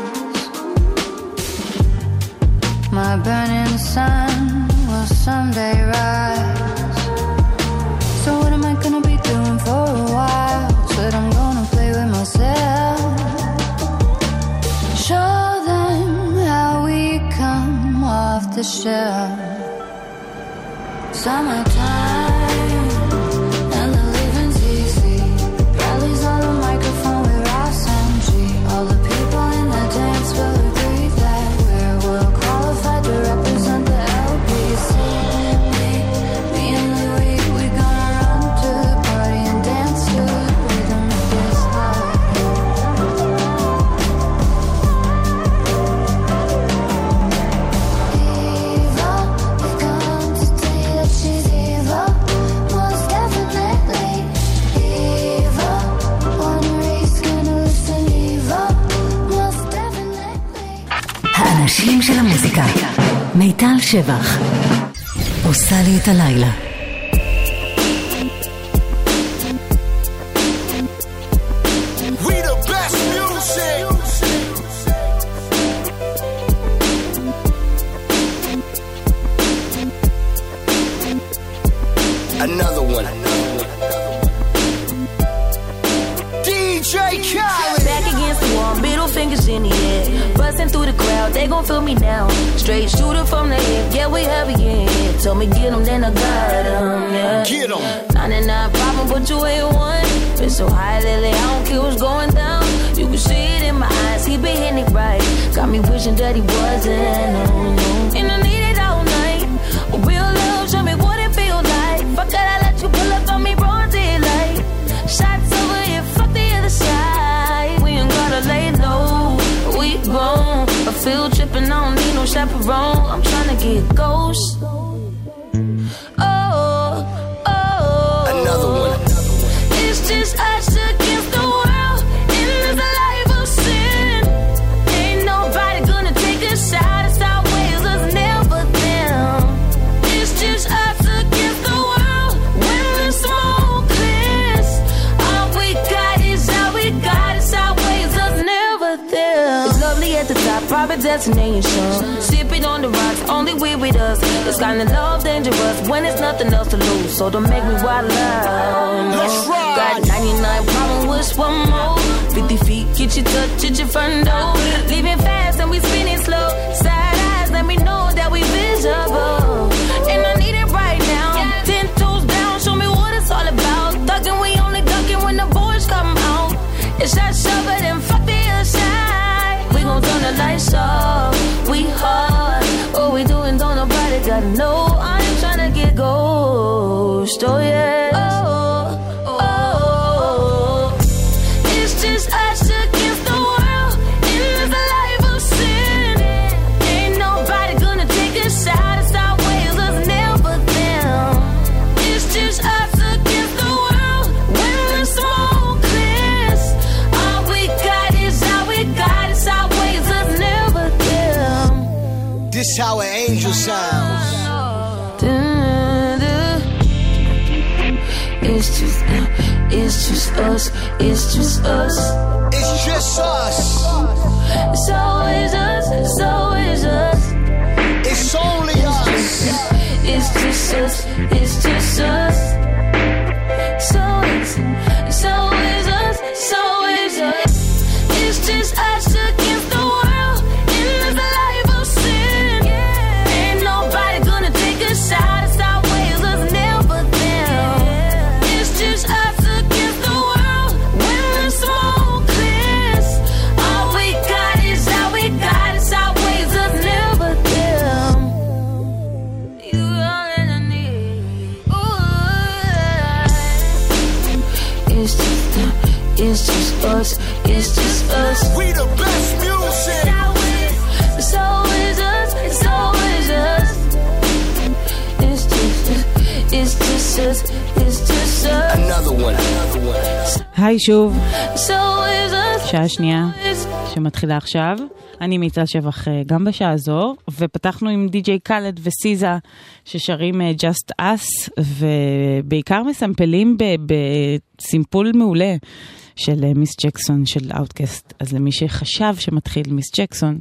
My burning sun will someday rise. So what am I gonna be doing for a while? Said I'm gonna play with myself. Show them how we come off the shelf. Summertime, and the living's easy. Rallies on the microphone with Ross M G. All the people in the dance will agree that we're well qualified to represent the L B C. Me, me and Louis, we gonna run to the party and dance to the rhythm. It gets harder. Eva, we come to tell you that she's evil, most definitely. Eva, wanna race, gonna listen. Eva, most definitely. האנשים של המוזיקה. מיטל שבח עושה לי את הלילה. We the best music. Another one. D J Khaled. Back against the wall, middle fingers in the air. Busting through the crowd, they gon' feel me now. Straight shooter from the hip, yeah, we heavy in here. Told me get 'em, then I got 'em, yeah. Get 'em. ninety-nine problem, but you ain't one. Been so high lately, I don't care what's going down. You can see it in my eyes, he been hitting it right. Got me wishing that he wasn't, oh no. And I need it all night. A real love, show me what it feel like. Fuck that, I let you pull up on me broad daylight. Shots over here, fuck the other side. We ain't gotta lay low, we grown. I feel tripping, I don't need no chaperone. I'm tryna get ghost. Oh, oh. Another one. It's just us against the world in this life of sin. Ain't nobody gonna take a shot. It's always us, never them. It's just us against the world when the smoke clears. All we got is all we got. It's always us, never them. It's lovely at the top, private destination. Sipping on the rocks, only we with us. It's kind of love dangerous when there's nothing else to lose. So don't make me wild out. No. Got ninety-nine problems, wish one more. fifty feet, get your touch, get your front door. Leaving fast and we spinning slow. Side eyes, let me know that we visible. And I need it right now. Ten toes down, show me what it's all about. Thugging, we only ducking when the boys come out. It's that shovel and fuck the other side. We gon' turn the lights off. We hard. What we doing, don't nobody gotta know. I ain't tryna get ghost. Oh yeah. Oh, oh, oh. It's just us against the world in this life. It's just, it's just us. It's just us. It's just us. It's always us. It's always us. It's only us. It's just us. It's just us. So it's, it's always us. It's always us. It's just us against the world in this life of sin. Ain't nobody gonna take a shot. It's always us, never them. It's just us against the world when the smoke clears. All we got is all we got. It's always us, never them. You all that I need. Ooh. It's just, it's just us. It's just us. We the best music. It's always us. It's always us. It's just, it's just us. It's just us. Another one. Another one. היי שוב, It's always us. שעה שנייה שמתחילה עכשיו. אני מיטל שבח גם בשעה הזו, ופתחנו עם די-ג'יי קאלד וסיזה ששרים Just Us, ובעיקר מסמפלים בסימפול מעולה של מיס ג'קסון של אאוטקאסט. אז למי שחשב שמתחיל מיס ג'קסון,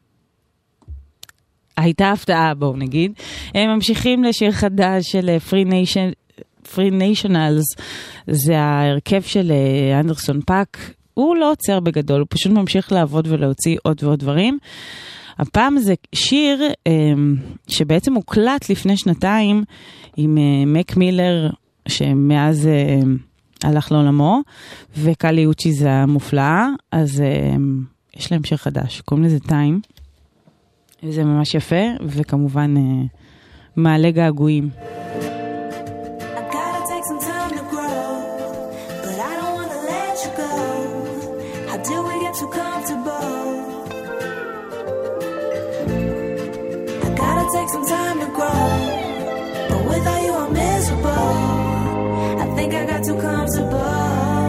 הייתה הפתעה, בואו נגיד. הם ממשיכים לשיר חדש של Free Nation, Free Nationals, זה ההרכב של אנדרסון פאק. הוא לא עוצר בגדול, הוא פשוט ממשיך לעבוד ולהוציא עוד ועוד דברים. הפעם זה שיר שבעצם הוקלט לפני שנתיים עם מק מילר, שמאז הלך לעולמו, וקלי אוצ'י זה המופלאה, אז יש להם שיר חדש, קוראים לזה טיים, וזה ממש יפה, וכמובן מעלה געגועים. Take some time to grow, but without you I'm miserable. I think I got too comfortable.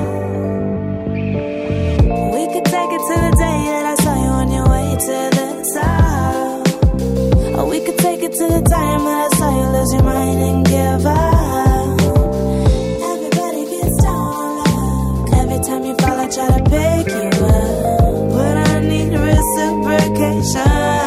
We could take it to the day that I saw you on your way to the top, or we could take it to the time that I saw you lose your mind and give up. Everybody gets down on luck. Every time you fall I try to pick you up, but I need reciprocation.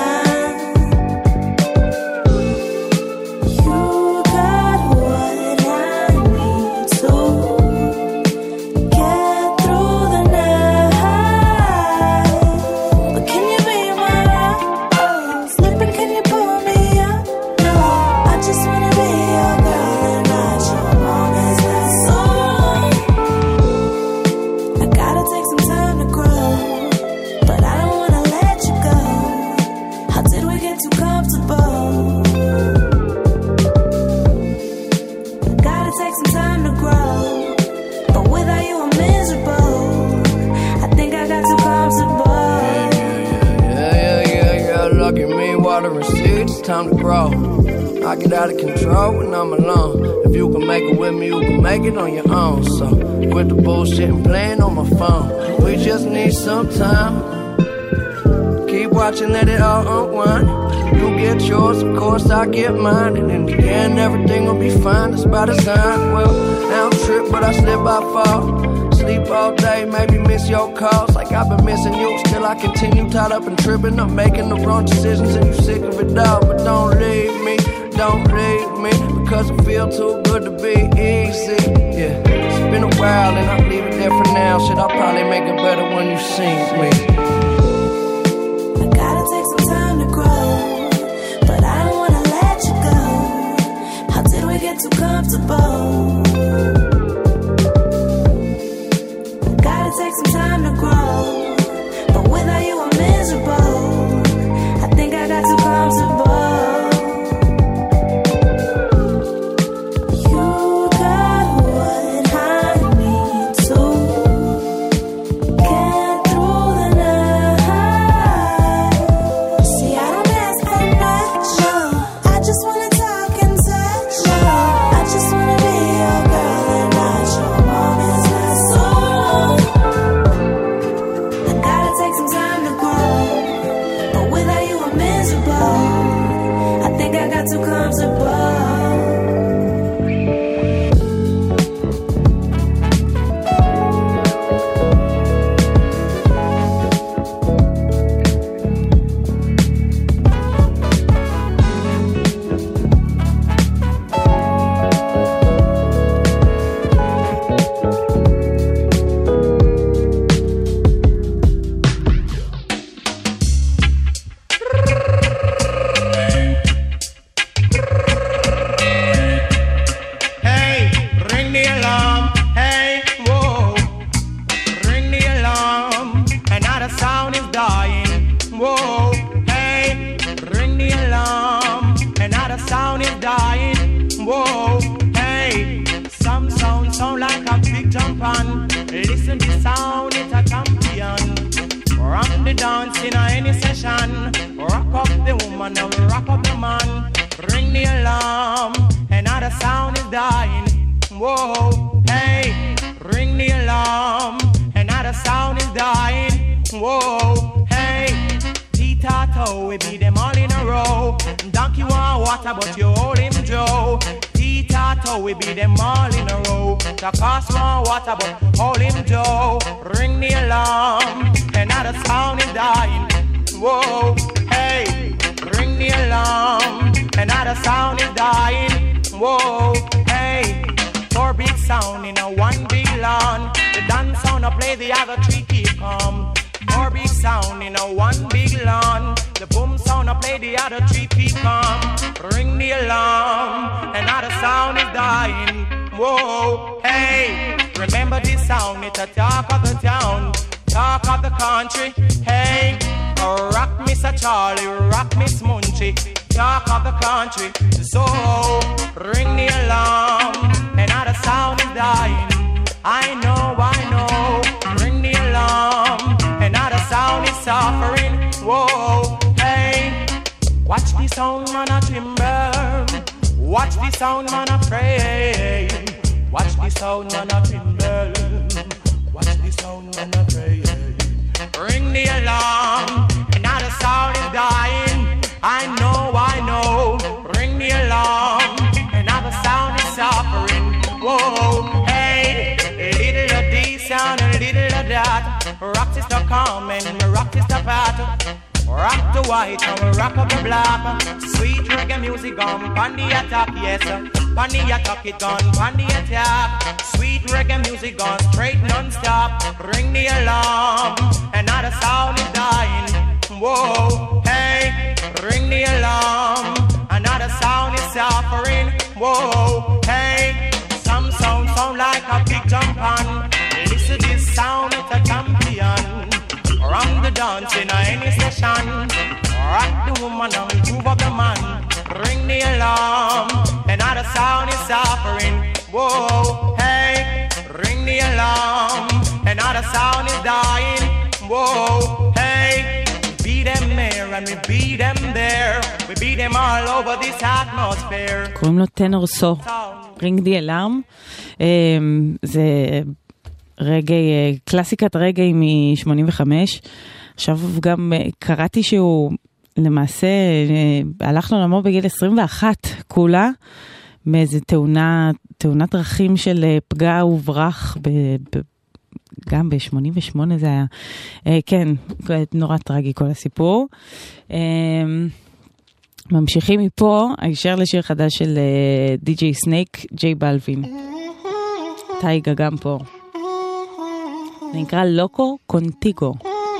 Time to grow. I get out of control when I'm alone. If you can make it with me, you can make it on your own. So quit the bullshit and playing on my phone. We just need some time. Keep watching, let it all unwind. You get yours, of course I get mine. And in the end, everything will be fine. It's by design. Well, I don't trip, but I slip, I fall. Sleep all day, maybe miss your calls like I've been missing you. Still I continue tied up and tripping up, making the wrong decisions, and you sick of it all. But don't leave me, don't leave me, because it feel too good to be easy. Yeah, it's been a while and I'll leave it there for now. Shit, I'll probably make it better when you see me. I gotta take some time to grow, but I don't wanna let you go. How did we get too comfortable? Take some time to grow, but without you I'm miserable. I think I got too comfortable. You got what I need to get through the night. See, I don't ask for much, no. I just wanna talk and touch, no. I just wanna be your girl and not your mommy's last song. Take some time to grow, jump on. Listen the sound, it's a champion. Rock the dance in any session. Rock up the woman and rock up the man. Ring the alarm, another sound is dying. Whoa, hey, ring the alarm, another sound is dying. Whoa, hey, T-Tato, we beat them all in a row. Donkey want water, but you hold him Joe. T-Tato, we beat them all in a row. Takas want water, but hold him Joe. Ring the alarm, another sound is dying. Whoa, hey, ring the alarm, another sound is dying. Whoa, hey, four big sound in a one big lawn. The dance sound I play, the other three keep calm. Four big sound in a one big lawn. The boom sound I play, the other three keep calm. Ring the alarm, another sound is dying. Whoa, hey, remember this sound, it's a talk of the town, talk of the country. Hey, rock Mister Charlie, rock Miss Munchie, talk of the country. So ring the alarm, another sound is dying. I know, I know, ring the alarm, another sound is suffering. Whoa, hey, watch the sound man a timber, watch the sound man a pray, watch the sound man a timber, watch the sound man a pray. Ring the alarm, another sound is dying. I know, I know, ring the alarm, another sound is suffering. Whoa, hey, little of this sound and little of that. Rock is the calm and rock is the path. Rock the white and rock up the black. Sweet reggae music on pandy attack, yes. Pandy attack it on pandy attack. Sweet reggae music on straight non-stop. Ring the alarm, another sound is dying. Whoa, hey, ring the alarm, another sound is suffering. Whoa, hey, some sound sound like a big jump on. Listen to this sound, it's a champion. Rock the dance in any session. Rock the woman and move up the man. Ring the alarm, another sound is suffering. Whoa, hey, ring the alarm, another sound is dying. Whoa, hey, we beat them there and we beat them there. We beat them all over this atmosphere. קוראים לו טנור סו, רינג די אלארם. זה רגעי, קלאסיקת רגעי מ-שמונים וחמש. עכשיו גם קראתי שהוא למעשה הלך לעולמו בגיל עשרים ואחת כולה, מאיזה תאונה, תאונת דרכים של פגע וברח, ב, ב, גם ב-שמונים ושמונה זה היה. כן, נורא טרגי כל הסיפור. ממשיכים מפה, הישר לשיר חדש של די-ג'יי סנייק, ג'יי בלווין. טייגה גם פה. זה נקרא לוקו קונטיגו.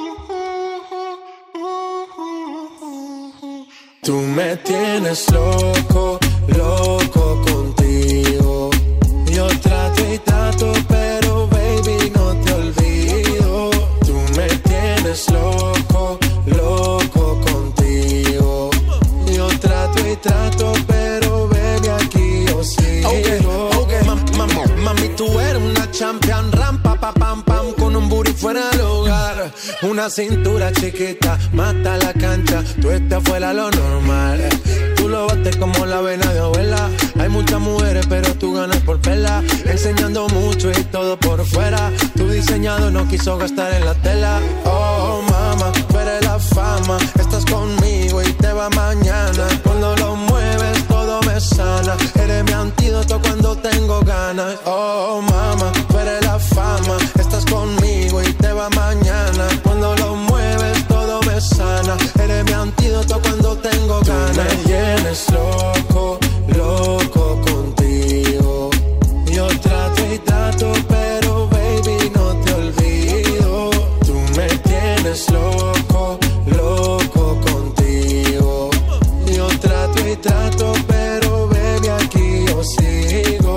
Tú me tienes loco, loco contigo. Yo trato y trato, pero baby no te olvido. Tú me tienes loco, loco contigo. Yo trato y trato, pero baby aquí yo sigo. Okay, okay, mam- mam- mami tú eres una champion, rampa pa pam pam con un booty fuera del hogar. Una cintura chiquita, mata la cancha, tú estás fuera lo normal. Tú lo bates como la vena de abuela. Hay muchas mujeres, pero tú ganas por pela. Enseñando mucho y todo por fuera. Tu diseñado no quiso gastar en la tela. Oh, mama, tú eres la fama. Estás conmigo y te va mañana. Cuando lo mueves todo me sana. Eres mi antídoto cuando tengo ganas. Oh, mama, tú eres la fama. Estás conmigo y te va mañana. Cuando lo mueves todo me sana. Eres mi antídoto cuando tengo ganas. Tú me tienes loco, loco contigo. Yo trato y trato, pero baby no te olvido. Tú me tienes loco, loco contigo. Yo trato y trato, pero baby aquí yo sigo.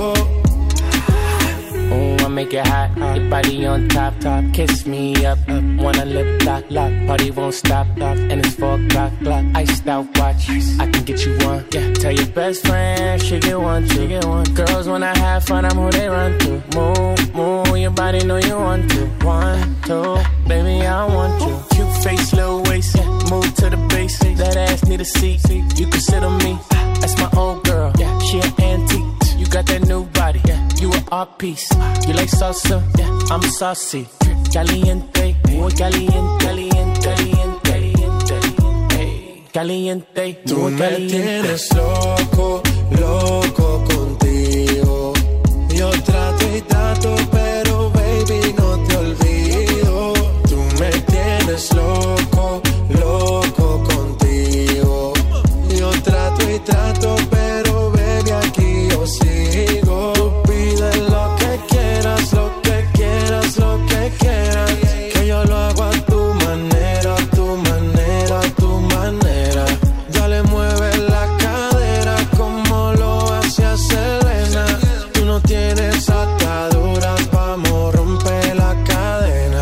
Oh, I make it hot, your body on top, top. Kiss me up, up. Wanna lip lock, lock. Party won't stop, stop. And it's four o'clock, clock. Iced out watch, I can get you one. Yeah, tell your best friend she get one, she get one. Girls wanna have fun, I'm who they run to. Move, move, your body know you want to. One, two, baby, I want you. Cute face, little waist, move to the base. That ass need a seat, you can sit on me. That's my old girl, yeah, she an antique. You got that new body, yeah, you an art piece. You like salsa, yeah, I'm saucy. Caliente, muy caliente, caliente, caliente, caliente, caliente. Tú me tienes loco, loco contigo. Yo trato y trato, pero baby no te olvido. Tú me tienes loco, loco contigo. Yo trato y trato, pero baby aquí yo sigo. Tú pide lo que quieras, lo que quieras, lo que quieras. Que yo lo hago a tu manera, a tu manera, a tu manera. Dale, mueve la cadera como lo hacía Selena. Tú no tienes ataduras, vamos, rompe la cadena.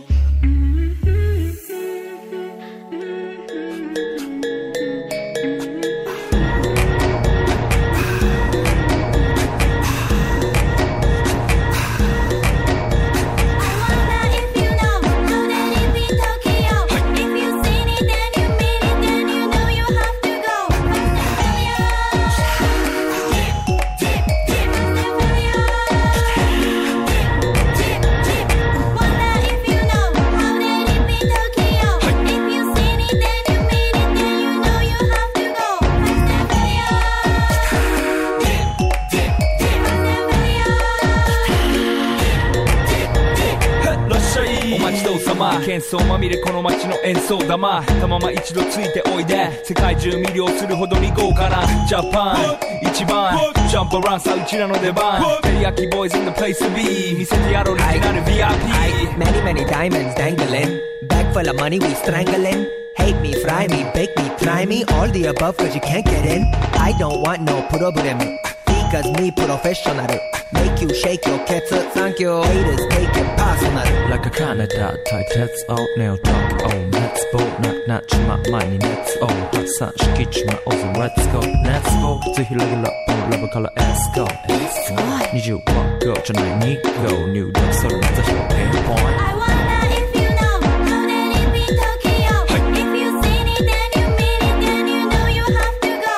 喧騒まみれこの街の演奏玉たまま一度ついておいで世界中魅了するほどに豪華なジャパン一番ジャンプアランさうちらの出番テリヤキボーイズ in the place to be 見せてやろうオリジナル ブイアイピー Many many diamonds dangling Bag full of money we strangling Hate me, fry me, bake me, try me All the above cause you can't get in I don't want no problem Because me professional Make you shake your cats Thank you Haters take it personal Like a Canada type Let's all nail talk Oh let's go Not not my money Let's all Hot sun Shikich my own Let's go Let's go ぜひレギュラーラブから Let's go Let's go にじゅういち号じゃないに号入力それまた表現 point I wonder if you know How did it be Tokyo If you seen it then you mean it Then you know you have to go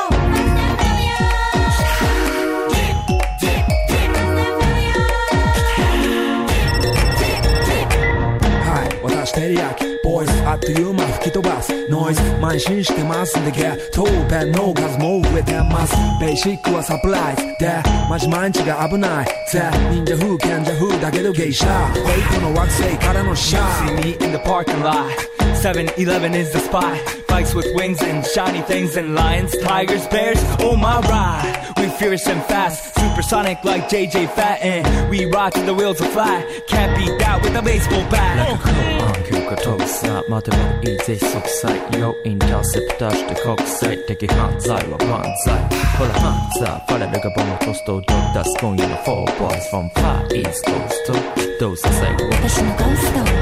はい私テリヤキボイスあっという間吹き飛ばすノイズ慢心してますんでゲットペンの数も増えてますベーシックはサプライズでマジ毎日が危ないぜ忍者風賢者風だけどゲイシャフェイクの惑星からのシャー You see me in the parking lot seven eleven is the spot Bikes with wings and shiny things and lions, tigers, bears, oh my ride We fierce and fast, supersonic like J J Fatten We rock till the wheels are flat Can't beat that with a baseball bat Like a cool on 急化飛ぶさ待てばいいぜ即歳よインターセプターして国際的犯罪は万歳ほらハンザーファレルがボムトストドッタス今夜の four boys from far east coast どうさ最後私のゴースト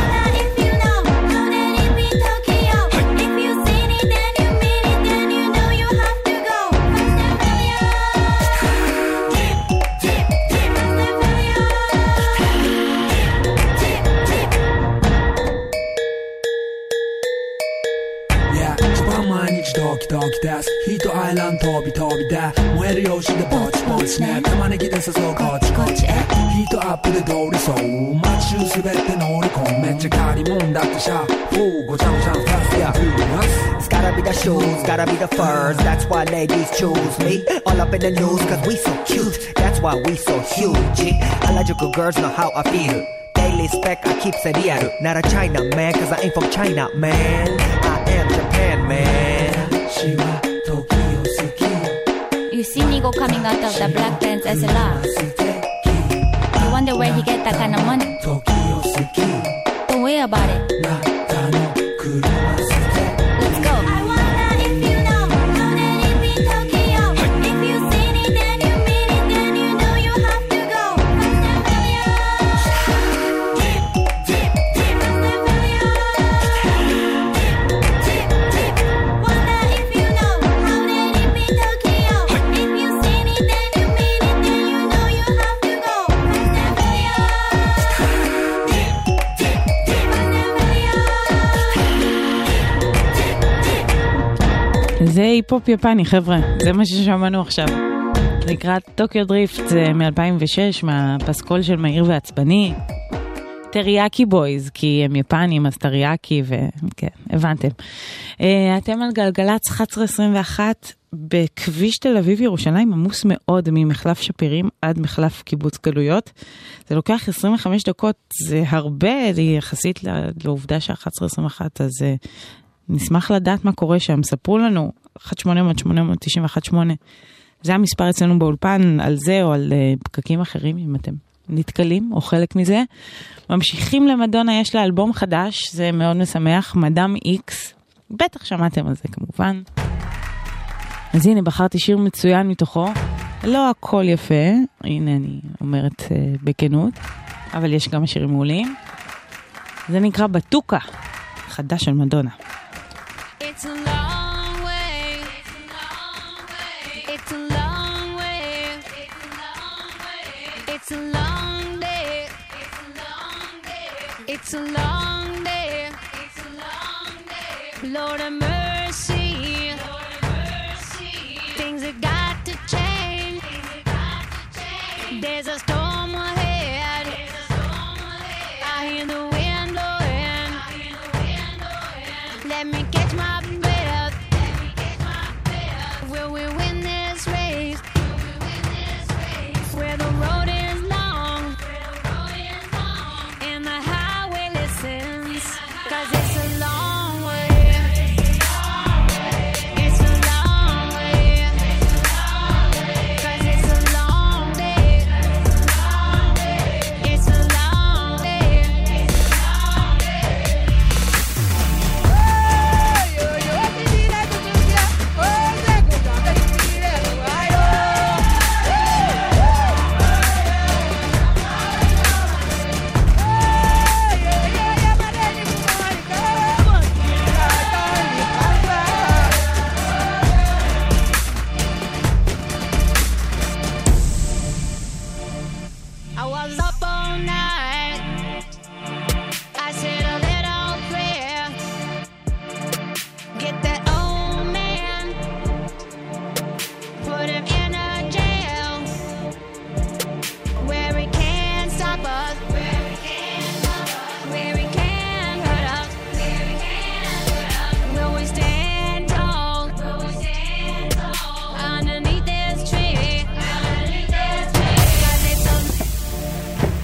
ドキドキですヒートアイランド飛び飛びで燃えるよしでポチポチね玉ねぎで誘うこっちこっちへヒートアップで通りそう街中すべて乗り込むめっちゃ借りもんだってシャフーごちゃごちゃのファストやフーマス It's gotta be the shoes, gotta be the furs That's why ladies choose me All up in the news cause we so cute That's why we so huge Harajuku girls know how I feel Daily spec I keep it real Not a China man cause I ain't from China man I am Japan man You see Nigo coming out of the black pants S L R You wonder where he get that kind of money Don't worry about it Let's go I wonder if you know How did it be Tokyo If you seen it then you mean it Then you know you have to go Wonder if you know How did it be Tokyo If you seen it then you mean it Then you זה היפ-הופ יפני, חבר'ה, זה מה ששמענו עכשיו. זה נקרא טוקיו דריפט, זה מ-אלפיים ושש, מהפסקול של מהיר ועצבני. טריאקי בויז, כי הם יפנים, אז טריאקי, וכן, הבנתם. אתם על גלגלץ אחת עשרה עשרים ואחת, בכביש תל אביב ירושלים, עמוס מאוד ממחלף שפירים עד מחלף קיבוץ גלויות. זה לוקח עשרים וחמש דקות, זה הרבה יחסית לעובדה ש-אחת עשרה עשרים ואחת, אז נשמח לדעת מה קורה שם. ספרו לנו, אחת שמונה אפס אפס שמונה תשע אחת שמונה, זה המספר אצלנו באולפן, על זה או על פקקים אחרים, אם אתם נתקלים או חלק מזה. ממשיכים למדונה, יש לה אלבום חדש, זה מאוד משמח, מדאם איקס, בטח שמעתם על זה כמובן. אז הנה, בחרתי שיר מצוין מתוכו, לא הכל יפה, הנה אני אומרת uh, בכנות, אבל יש גם שירים מעולים. זה נקרא בטוקה, חדש של מדונה. It's a long way. It's a long way. It's a long day. It's a long day. Lord have mercy. Things have got to change. There's a storm ahead. I hear the wind blowing. Let me catch my breath. Will we win this race? Where the road is long and the highway listens, 'cause it's a long way. It's a long way. 'Cause it's a long day. It's a long day. I was up all night. I said a little prayer. Get that old man, put him in a jail where he can't stop us, where he can't stop us, where he can't hurt us, where he can't hurt us. Will we stand tall? Will we stand tall underneath this tree? Underneath this tree. 'Cause it's a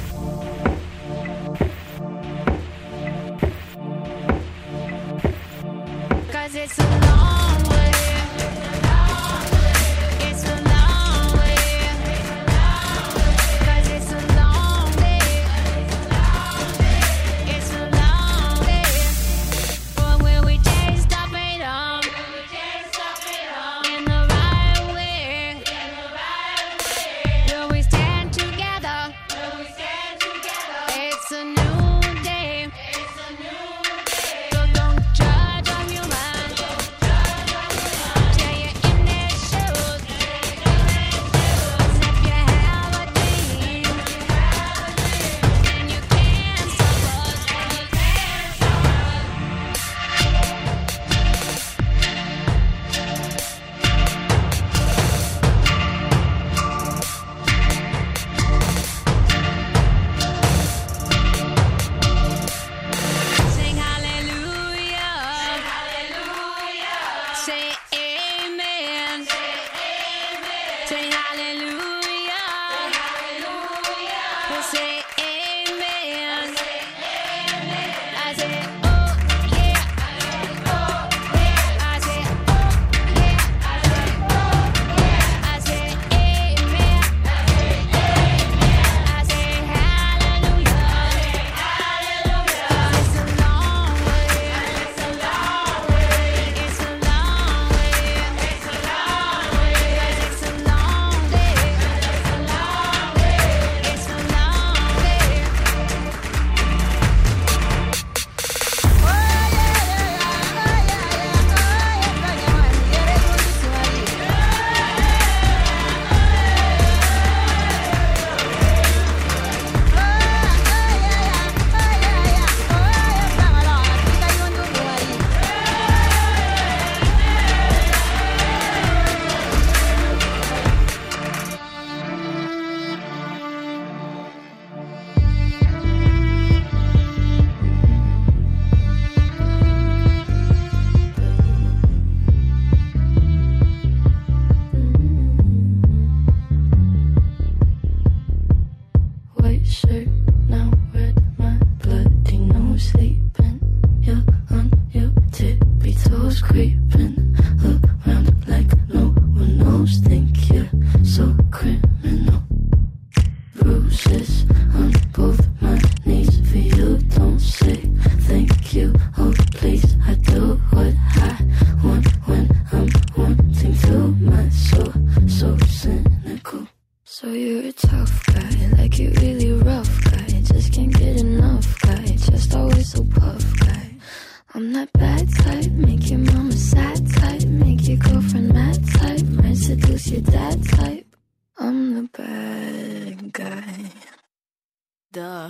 shirt, now red, my bloody nose sleeping. You're on your tippy toes creeping around like no one knows. Think you're so criminal. Bruises on both my knees for you. Don't say thank you, oh please. I do what I want when I'm wanting to. My soul so cynical. So you're a tough guy, like you really rough guy. Just can't get enough guy, just always so puff guy. I'm that bad type, make your mama sad type, make your girlfriend mad type, might seduce your dad type. I'm the bad guy. Duh.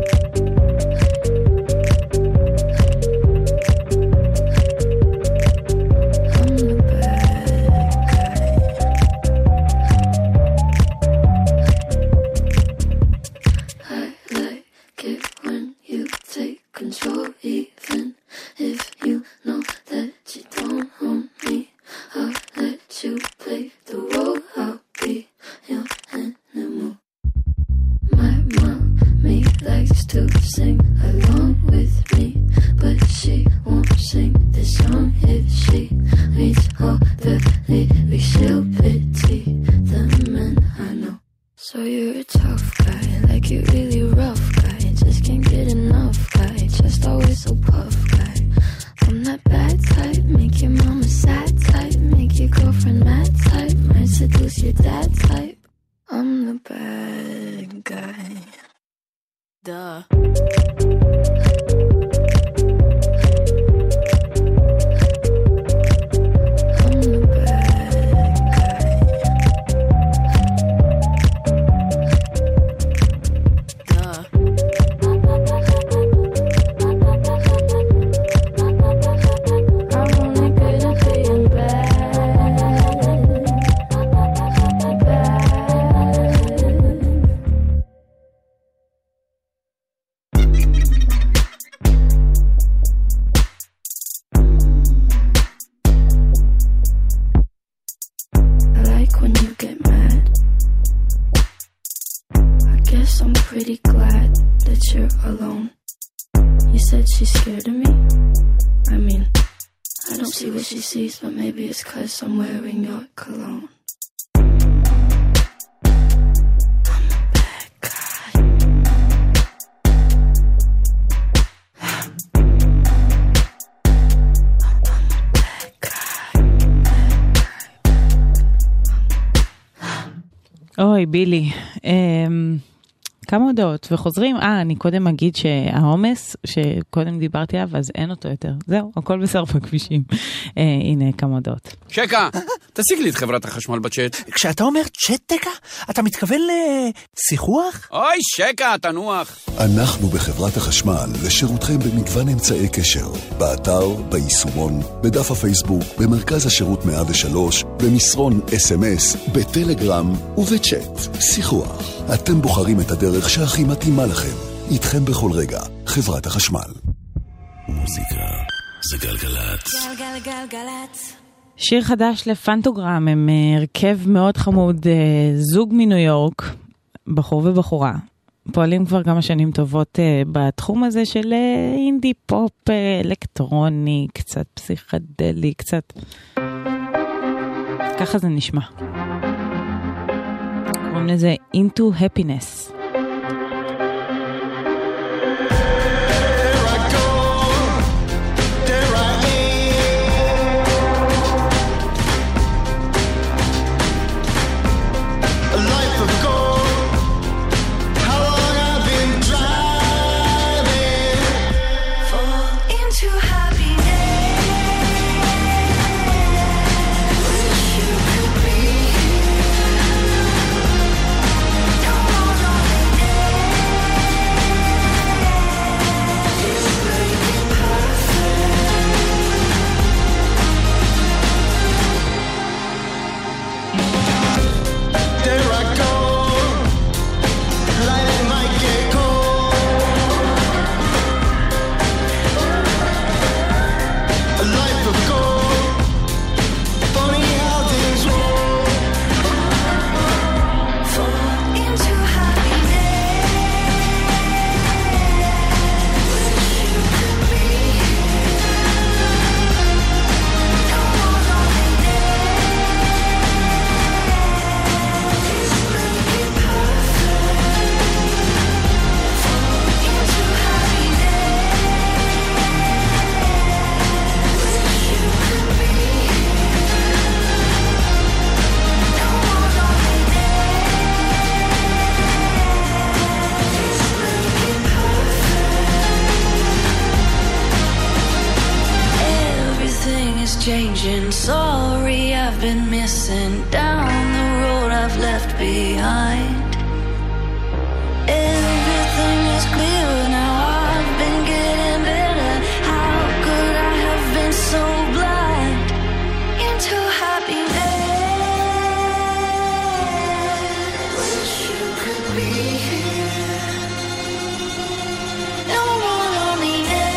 Control, even if you know that you don't own me. I'll let you play the role. I'll be your animal. My mommy likes to sing along with me, but she won't sing this song if she reads all the lyrics. She'll pity the men I know. So you're a tough guy, like you really rough guy. Just can't get enough guy, just always so puff guy. I'm that bad type, make your mama sad type, make your girlfriend mad type, might seduce your dad type. I'm the bad guy. Duh. Pretty glad that you're alone. You said she's scared of me. I mean, I don't see what she sees, but maybe it's 'cause I'm wearing your cologne. אוי, בילי. אמ... כמה הודעות, וחוזרים, אה, אני קודם אגיד שהעומס, שקודם דיברתי עליו, אז אין אותו יותר. זהו, הכל בסדר בכבישים. אה, הנה כמה הודעות. שקה, תשיג לי את חברת החשמל בצ'אט. כשאתה אומר צ'אט תקה, אתה מתכוון לשיחוח? אוי, שקה, תנוח. אנחנו בחברת החשמל לשירותכם במגוון אמצעי קשר. באתר, ביישומון, בדף הפייסבוק, במרכז השירות מאה ושלוש, במסרון אס אם אס, בטלגרם ובצ'אט. שיחוח. אתם בוחרים את הדרך שהכי מתאימה לכם. איתכם בכל רגע. חברת החשמל. מוזיקה זה גלגלת. גלגלגלגלת. שיר חדש לפנטוגרם, הם הרכב מאוד חמוד, זוג מניו יורק, בחור ובחורה. פועלים כבר כמה שנים טובות בתחום הזה של אינדי פופ, אלקטרוני, קצת פסיכדלי, קצת... ככה זה נשמע. קוראים לזה Into Happiness. Hold on. missing down the road I've left behind. Everything is clear now, I've been getting better. How could I have been so blind into happiness? Wish you could be here. No one on the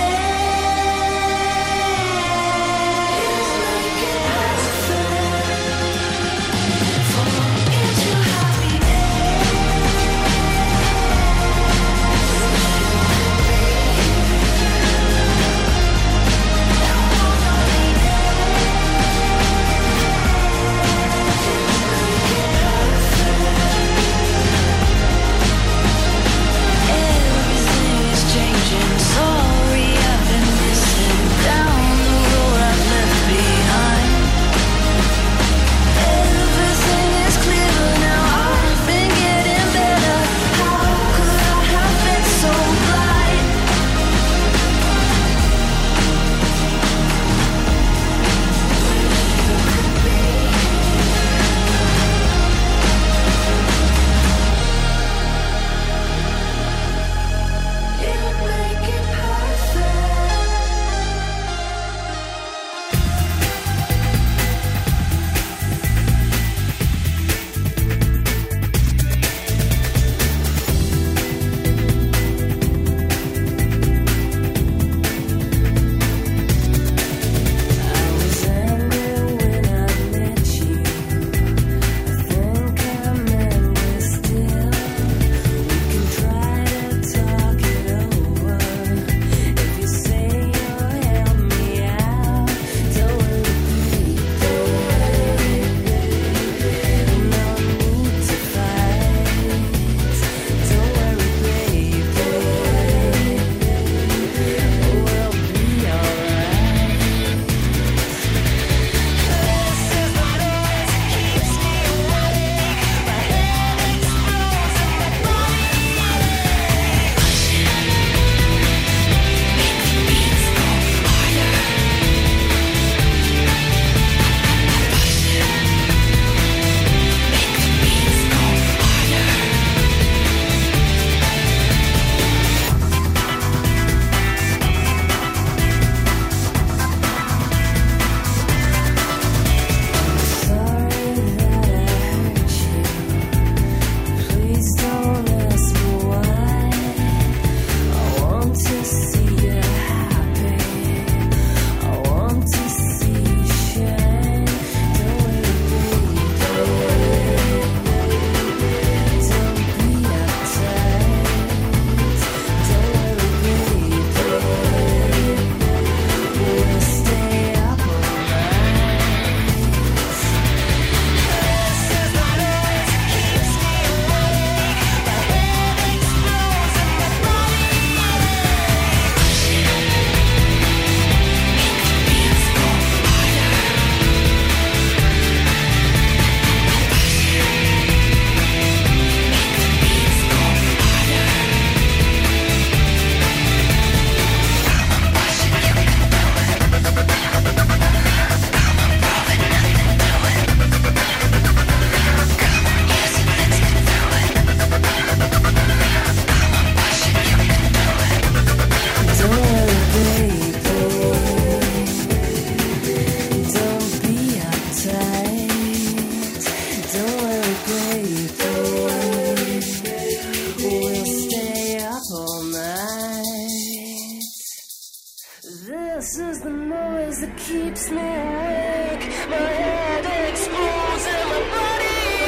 This is the noise that keeps me awake. My head explodes and my body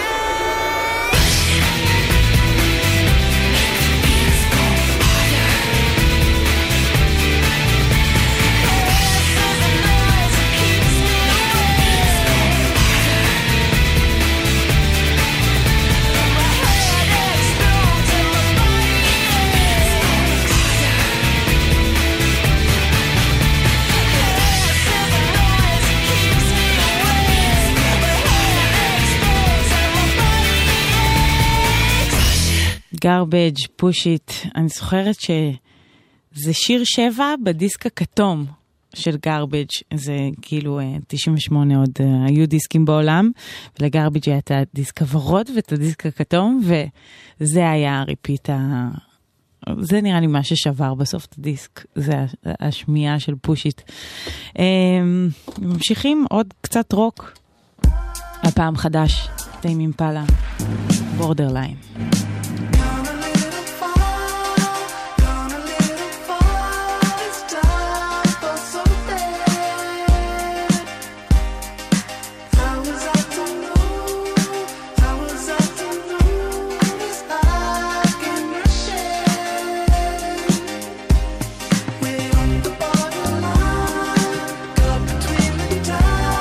garbage, push it. אני זוכרת שזה שיר שבע בדיסק הכתום של גרביג' זה כאילו תשעים ושמונה עוד היו דיסקים בעולם, ולגרביג' היה את הדיסק הוורוד ואת הדיסק הכתום, וזה היה הריפיט ה... זה נראה לי מה ששבר בסוף את הדיסק, זה השמיעה של פושיט. ממשיכים עוד קצת רוק, הפעם חדש, טיים אימפלה, בורדרליין.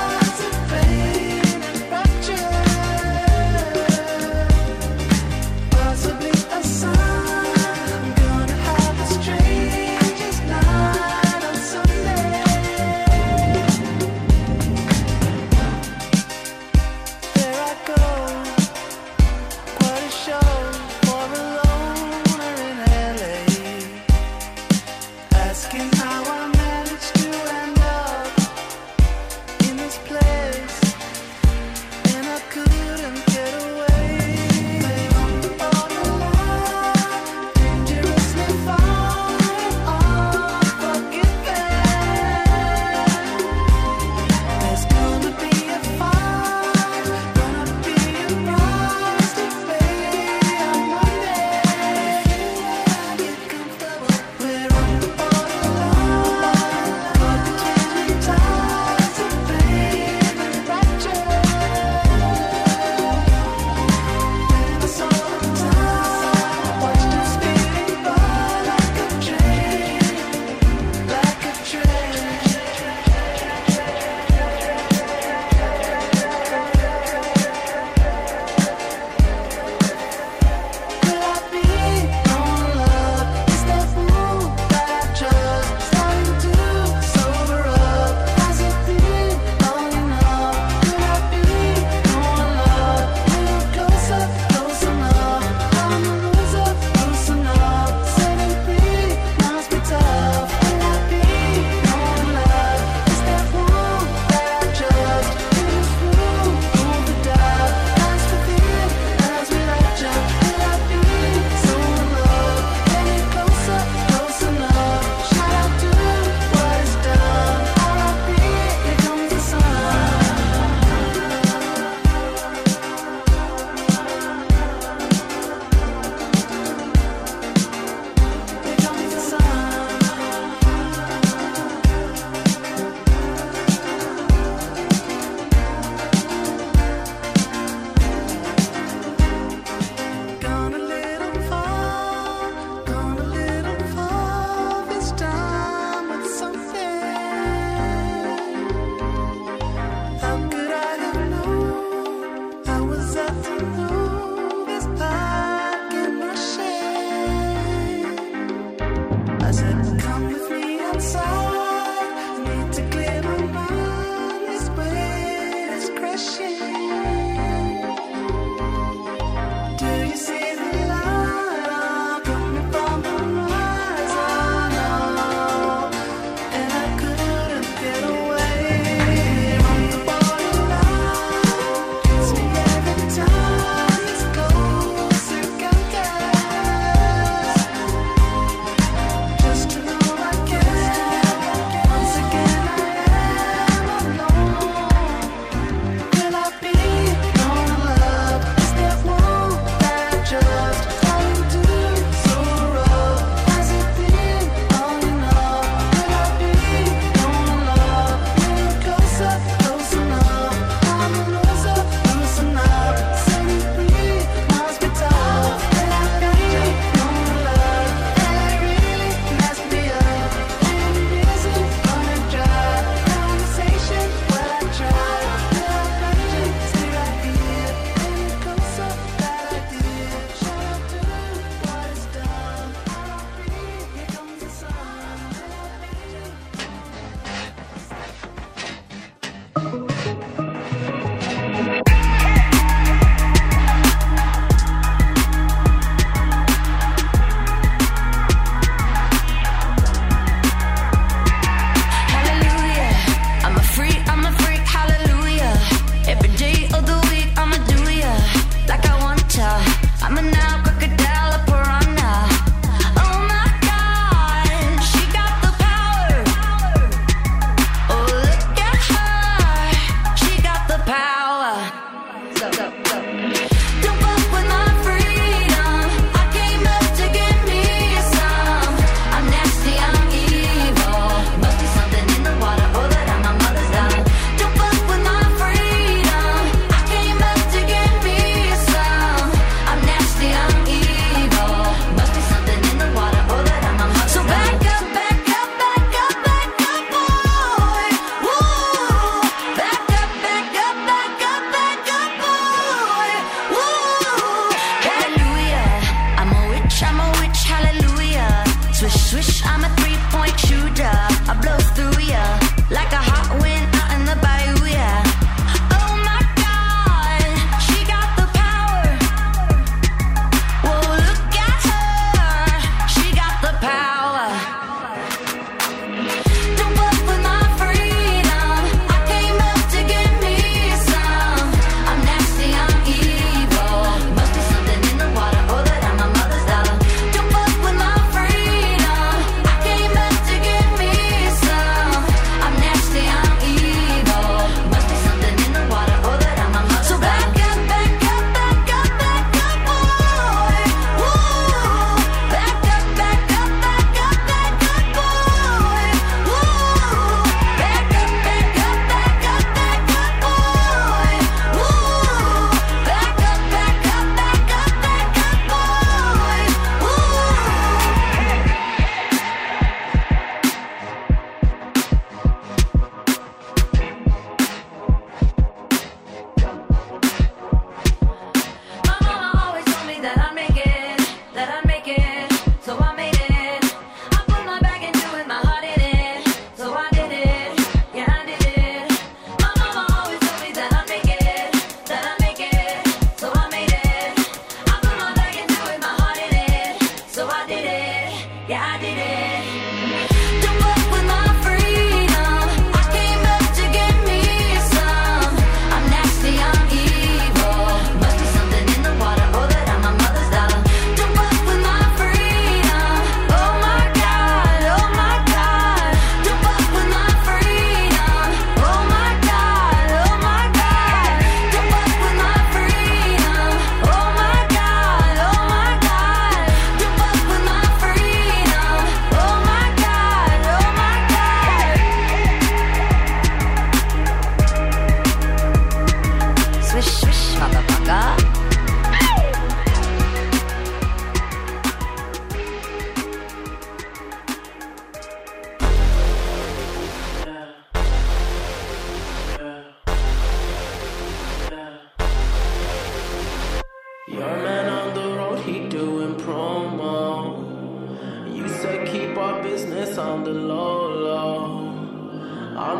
We're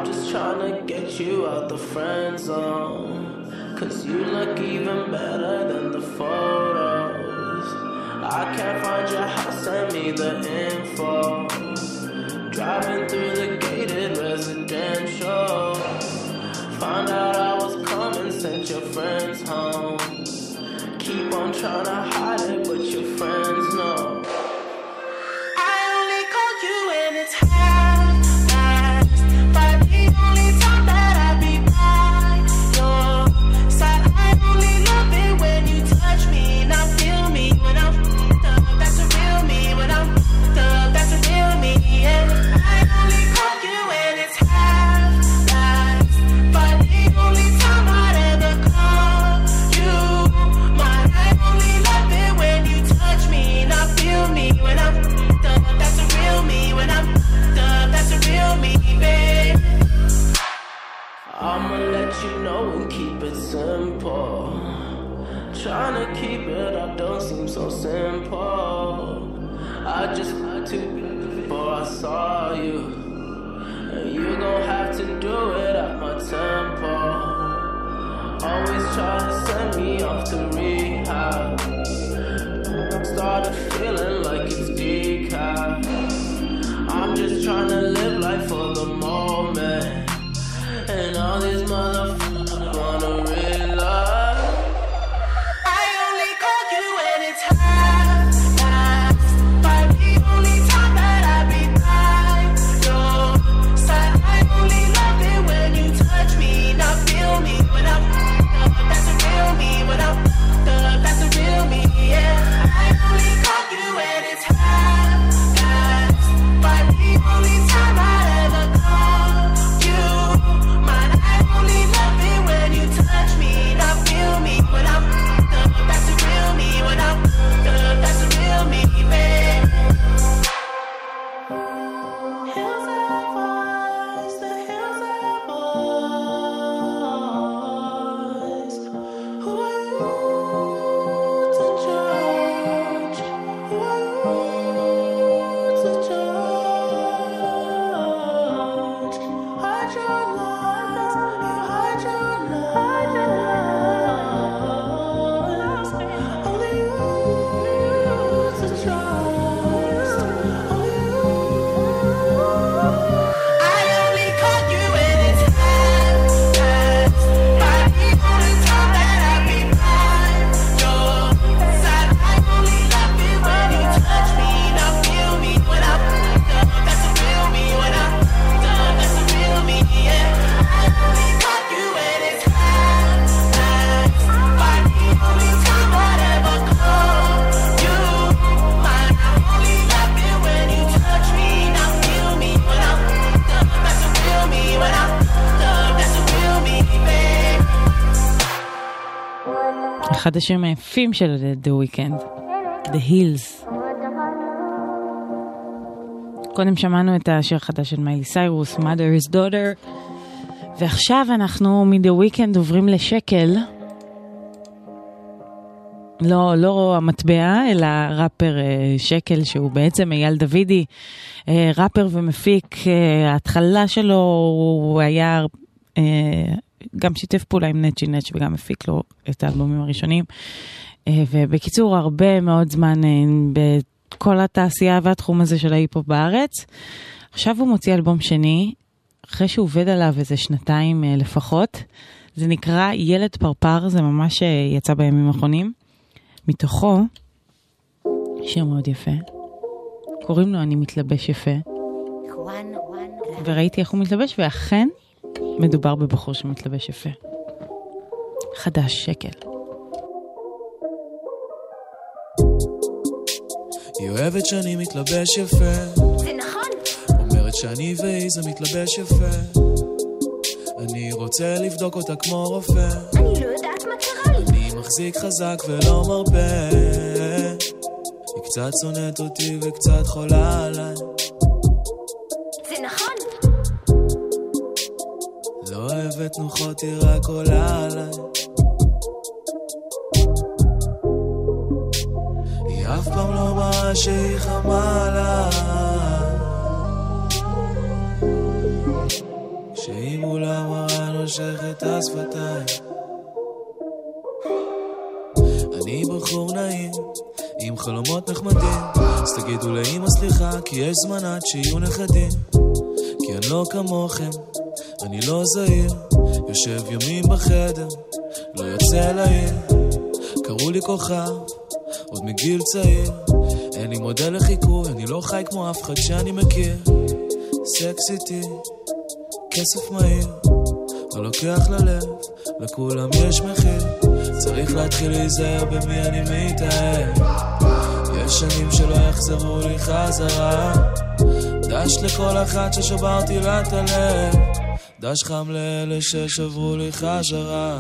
just trying to get you out the friend zone, 'cause you look even better than the photos. I can't find your house, send me the info. Driving through the gated residential, found out I was coming, sent your friends home. Keep on trying to hide it, but your friends know. I only called you when it's half-past, but the only time that I be by your side. I only love it when you touch me, not feel me when I'm f***ed up. That's a real me when I'm f***ed up. That's a real me, yeah. I only called you when it's half-past, but the only time I'd ever call you mine. I only love it when you touch me, not feel me when I'm f***ed up. That's a real me when I'm f***ed up. That's a real me, babe. I'ma let you know and keep it simple. Trying to keep it up don't seem so simple. I just had to before I saw you, and you gon' have to do it at my tempo. Always try to send me off to rehab. Started feeling like it's decaf. I'm just trying to live life for the moment, and all these motherfuckers wanna realize. I only call you when it's half-past, but the only time that I be by your side. I only love it when you touch me, not feel me when I'm f***ed up. That's a real me when I'm f***ed up. That's a real me, yeah. I only call you when it's half-past, but the only time I'd ever call you mine. I only love it when you touch me, not feel me when I'm f***ed up. That's a real me when I'm f***ed up. That's a real me, babe. Hills have eyes, the hills have eyes. Who are you to judge? Who are you to judge? Hide your lies, you hide your lies. Only you to trust. Only you. I only call you when it's half-past, but the only time that I be by your side. I only love it when you touch me, not feel me when I'm f***ed up. That's a real me when I'm f***ed up. That's a real me, yeah. I only call you when it's half-past, but the only time I'd ever call you mine. I only love it when you touch me, not feel me when I'm f***ed up. That's a real me when I'm f***ed up. That's a real me, babe. אחד השירים היפים של The Weeknd, The Hills. קודם שמענו את השיר החדש של מיילי סיירוס, Mother's Daughter, ועכשיו אנחנו מ-The Weeknd עוברים לשקל. לא, לא המטבע, אלא ראפר אה, שקל, שהוא בעצם אייל דוידי, אה, ראפר ומפיק. אה, ההתחלה שלו הוא היה אה, גם שיתף פעולה עם נצ'י נצ' וגם מפיק לו את האלבומים הראשונים. אה, ובקיצור, הרבה מאוד זמן אה, בכל התעשייה והתחום הזה של ההיפ-הופ בארץ. עכשיו הוא מוציא אלבום שני, אחרי שהוא עובד עליו איזה שנתיים אה, לפחות. זה נקרא ילד פרפר, זה ממש אה, יצא בימים האחרונים. מתוכו, שיר מאוד יפה, קוראים לו אני מתלבש יפה, וראיתי איך הוא מתלבש, ואכן מדובר בבחור שמתלבש יפה. חדש, שקל. היא אוהבת שאני מתלבש יפה, זה נכון. אומרת שאני ואיזה מתלבש יפה, אני רוצה לבדוק אותה כמו רופא, אני לא יודעת מה קרה לי. אני מחזיק חזק ולא מרפא, היא קצת שונאת אותי וקצת חולה עליי, זה נכון. לא אוהבת נוחות, היא רק עולה עליי, היא אף פעם לא מראה שהיא חמה עליי, שהיא שהיא מול המראה נושכת השפתיים. אני בחור נעים עם חלומות נחמדים, אז תגידו לאמא סליחה כי יש זמן עד שיהיו נכדים. כי אני לא כמוכם, אני לא זהיר, יושב ימים בחדר, לא יוצא לעיר. קראו לי כוכב, עוד מגיל צעיר, אין לי מודל לחיקוי, אני לא חי כמו אף אחד שאני מכיר. סקסיטי, כסף מהיר, לא לוקח ללב, לכולם יש מחיר. צריך להתחיל להיזהר במי אני מתאהב, יש שנים שלא יחזרו לי חזרה. דש לכל אחת ששברתי לה את הלב, דש חם לאלה ששברו לי חזרה.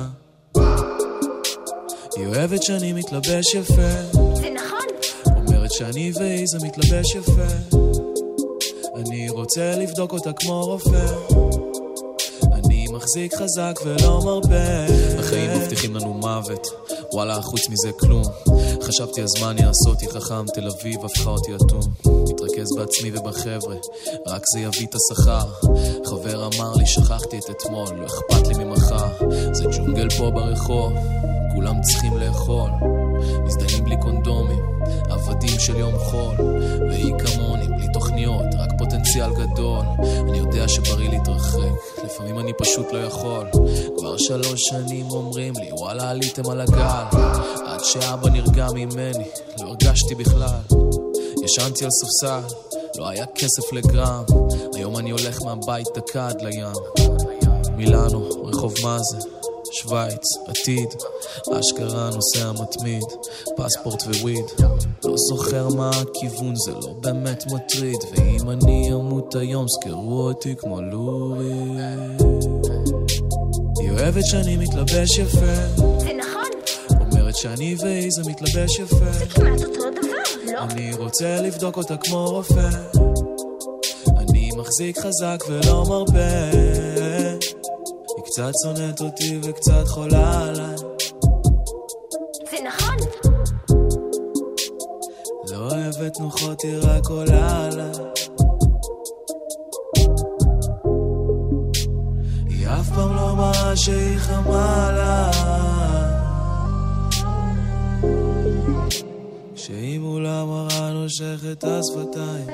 היא אוהבת שאני מתלבש יפה, זה נכון? אומרת שאני ואיזה מתלבש יפה. אני רוצה לבדוק אותה כמו רופא, אני מחזיק חזק ולא מרפא. החיים מבטיחים לנו מוות, וואלה חוץ מזה כלום. חשבתי הזמן יעשה אותי חכם, תל אביב הפכה אותי אטום. מתרכז בעצמי ובחבר'ה, רק זה יביא את השכר. חבר אמר לי שכחתי את אתמול, לא אכפת לי ממחר. זה ג'ונגל פה ברחוב, כולם צריכים לאכול. מזדיינים בלי קונדומים, עבדים של יום חול. והיא כמוני, בלי תוכניות, רק פוטנציאל גדול. אני יודע שבריא להתרחק, לפעמים אני פשוט לא יכול. כבר שלוש שנים אומרים לי, וואלה עליתם על הגל. עד שאבא נרגע ממני, לא הרגשתי בכלל. ישנתי על ספסל, לא היה כסף לגרם. היום אני הולך מהבית דקה עד לים. מילאנו, רחוב מאזה, שוויץ, עתיד, אשכרה נוסע מתמיד, פספורט וויד. לא זוכר מה הכיוון, זה לא באמת מטריד. ואם אני אמות היום, זכרו אותי כמו לורי. היא אוהבת שאני מתלבש יפה, זה נכון? אומרת שאני ואיזה מתלבש יפה. זה כמעט אותו דבר, לא? אני רוצה לבדוק אותה כמו רופא, אני מחזיק חזק ולא מרפא. היא קצת שונאת אותי וקצת חולה עליי, זה נכון? לא אוהבת נוחות, היא רק עולה עליי. היא אף פעם לא מראה שהיא חמה עליי, כשהיא מול המראה נושכת השפתיים.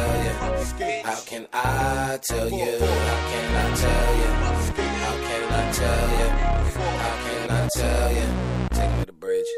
How can I tell you? How can I tell you? How can I tell you? How can I tell you? Take me to the bridge.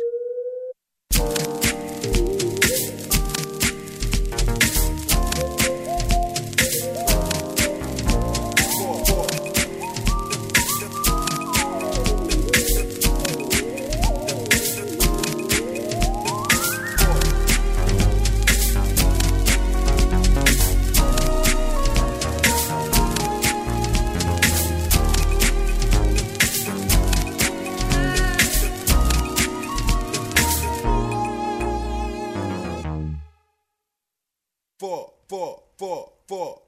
Four, four, four, four.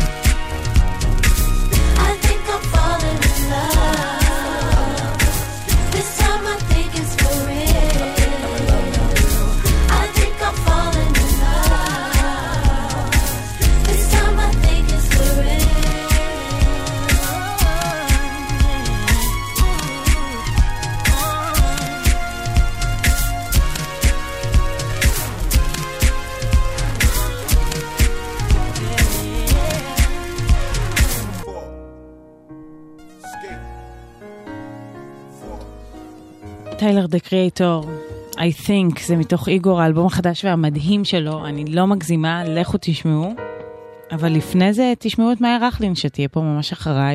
I think I'm falling in love. This time I think it's for real. I think I'm falling in love. This time I think it's for טיילר דה קריאטור, I think, זה מתוך איגור, האלבום החדש והמדהים שלו, אני לא מגזימה, לכו תשמעו, אבל לפני זה תשמעו את מאיה רכלין שתהיה פה ממש אחריי.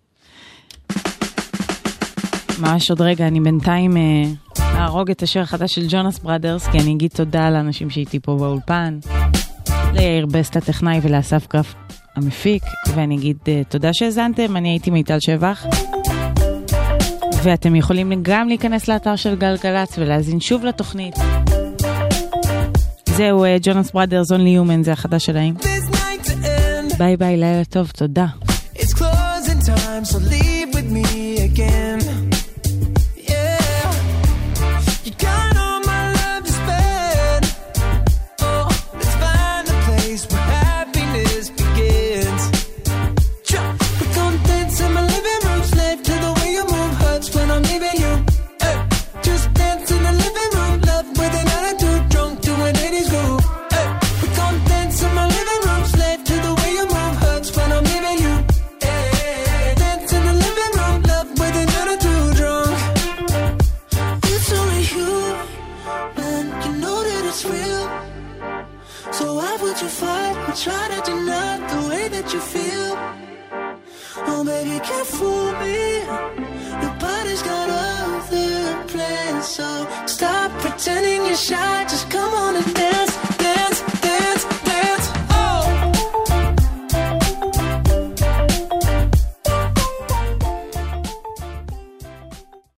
ממש עוד רגע, אני בינתיים אהרוג את השיר החדש של ג'ונס בראדרס, כי אני אגיד תודה לאנשים שהייתי פה באולפן, ליאיר בסט הטכנאי ולאסף קרפט המפיק, ואני אגיד תודה שהזנתם, אני הייתי מיטל שבח, ואתם יכולים גם להיכנס לאתר של גלגלץ ולהזין שוב לתוכנית. זהו, ג'ונס בראדרס, Only Human, זה החדש שלהם. ביי ביי, לילה טוב, תודה. It's closing time, so leave with me again. Yeah, you got all my love to spend. Oh, let's find a place where happiness begins. We're gonna dance in my living room, slave to the way you move hurts when I'm leaving you. Hey, just dance in the living room, love with an attitude, drunk doing eighties groove. Hey, we're gonna dance in my living room, slave to the way you move hurts when I'm leaving you. Hey, dance in the living room, love with an attitude, drunk. It's only you, man, you know that it's real. So why would you fight or try to deny the way that you feel? Oh baby, you can't fool me. Your body's got other plans, so stop pretending you're shy. Just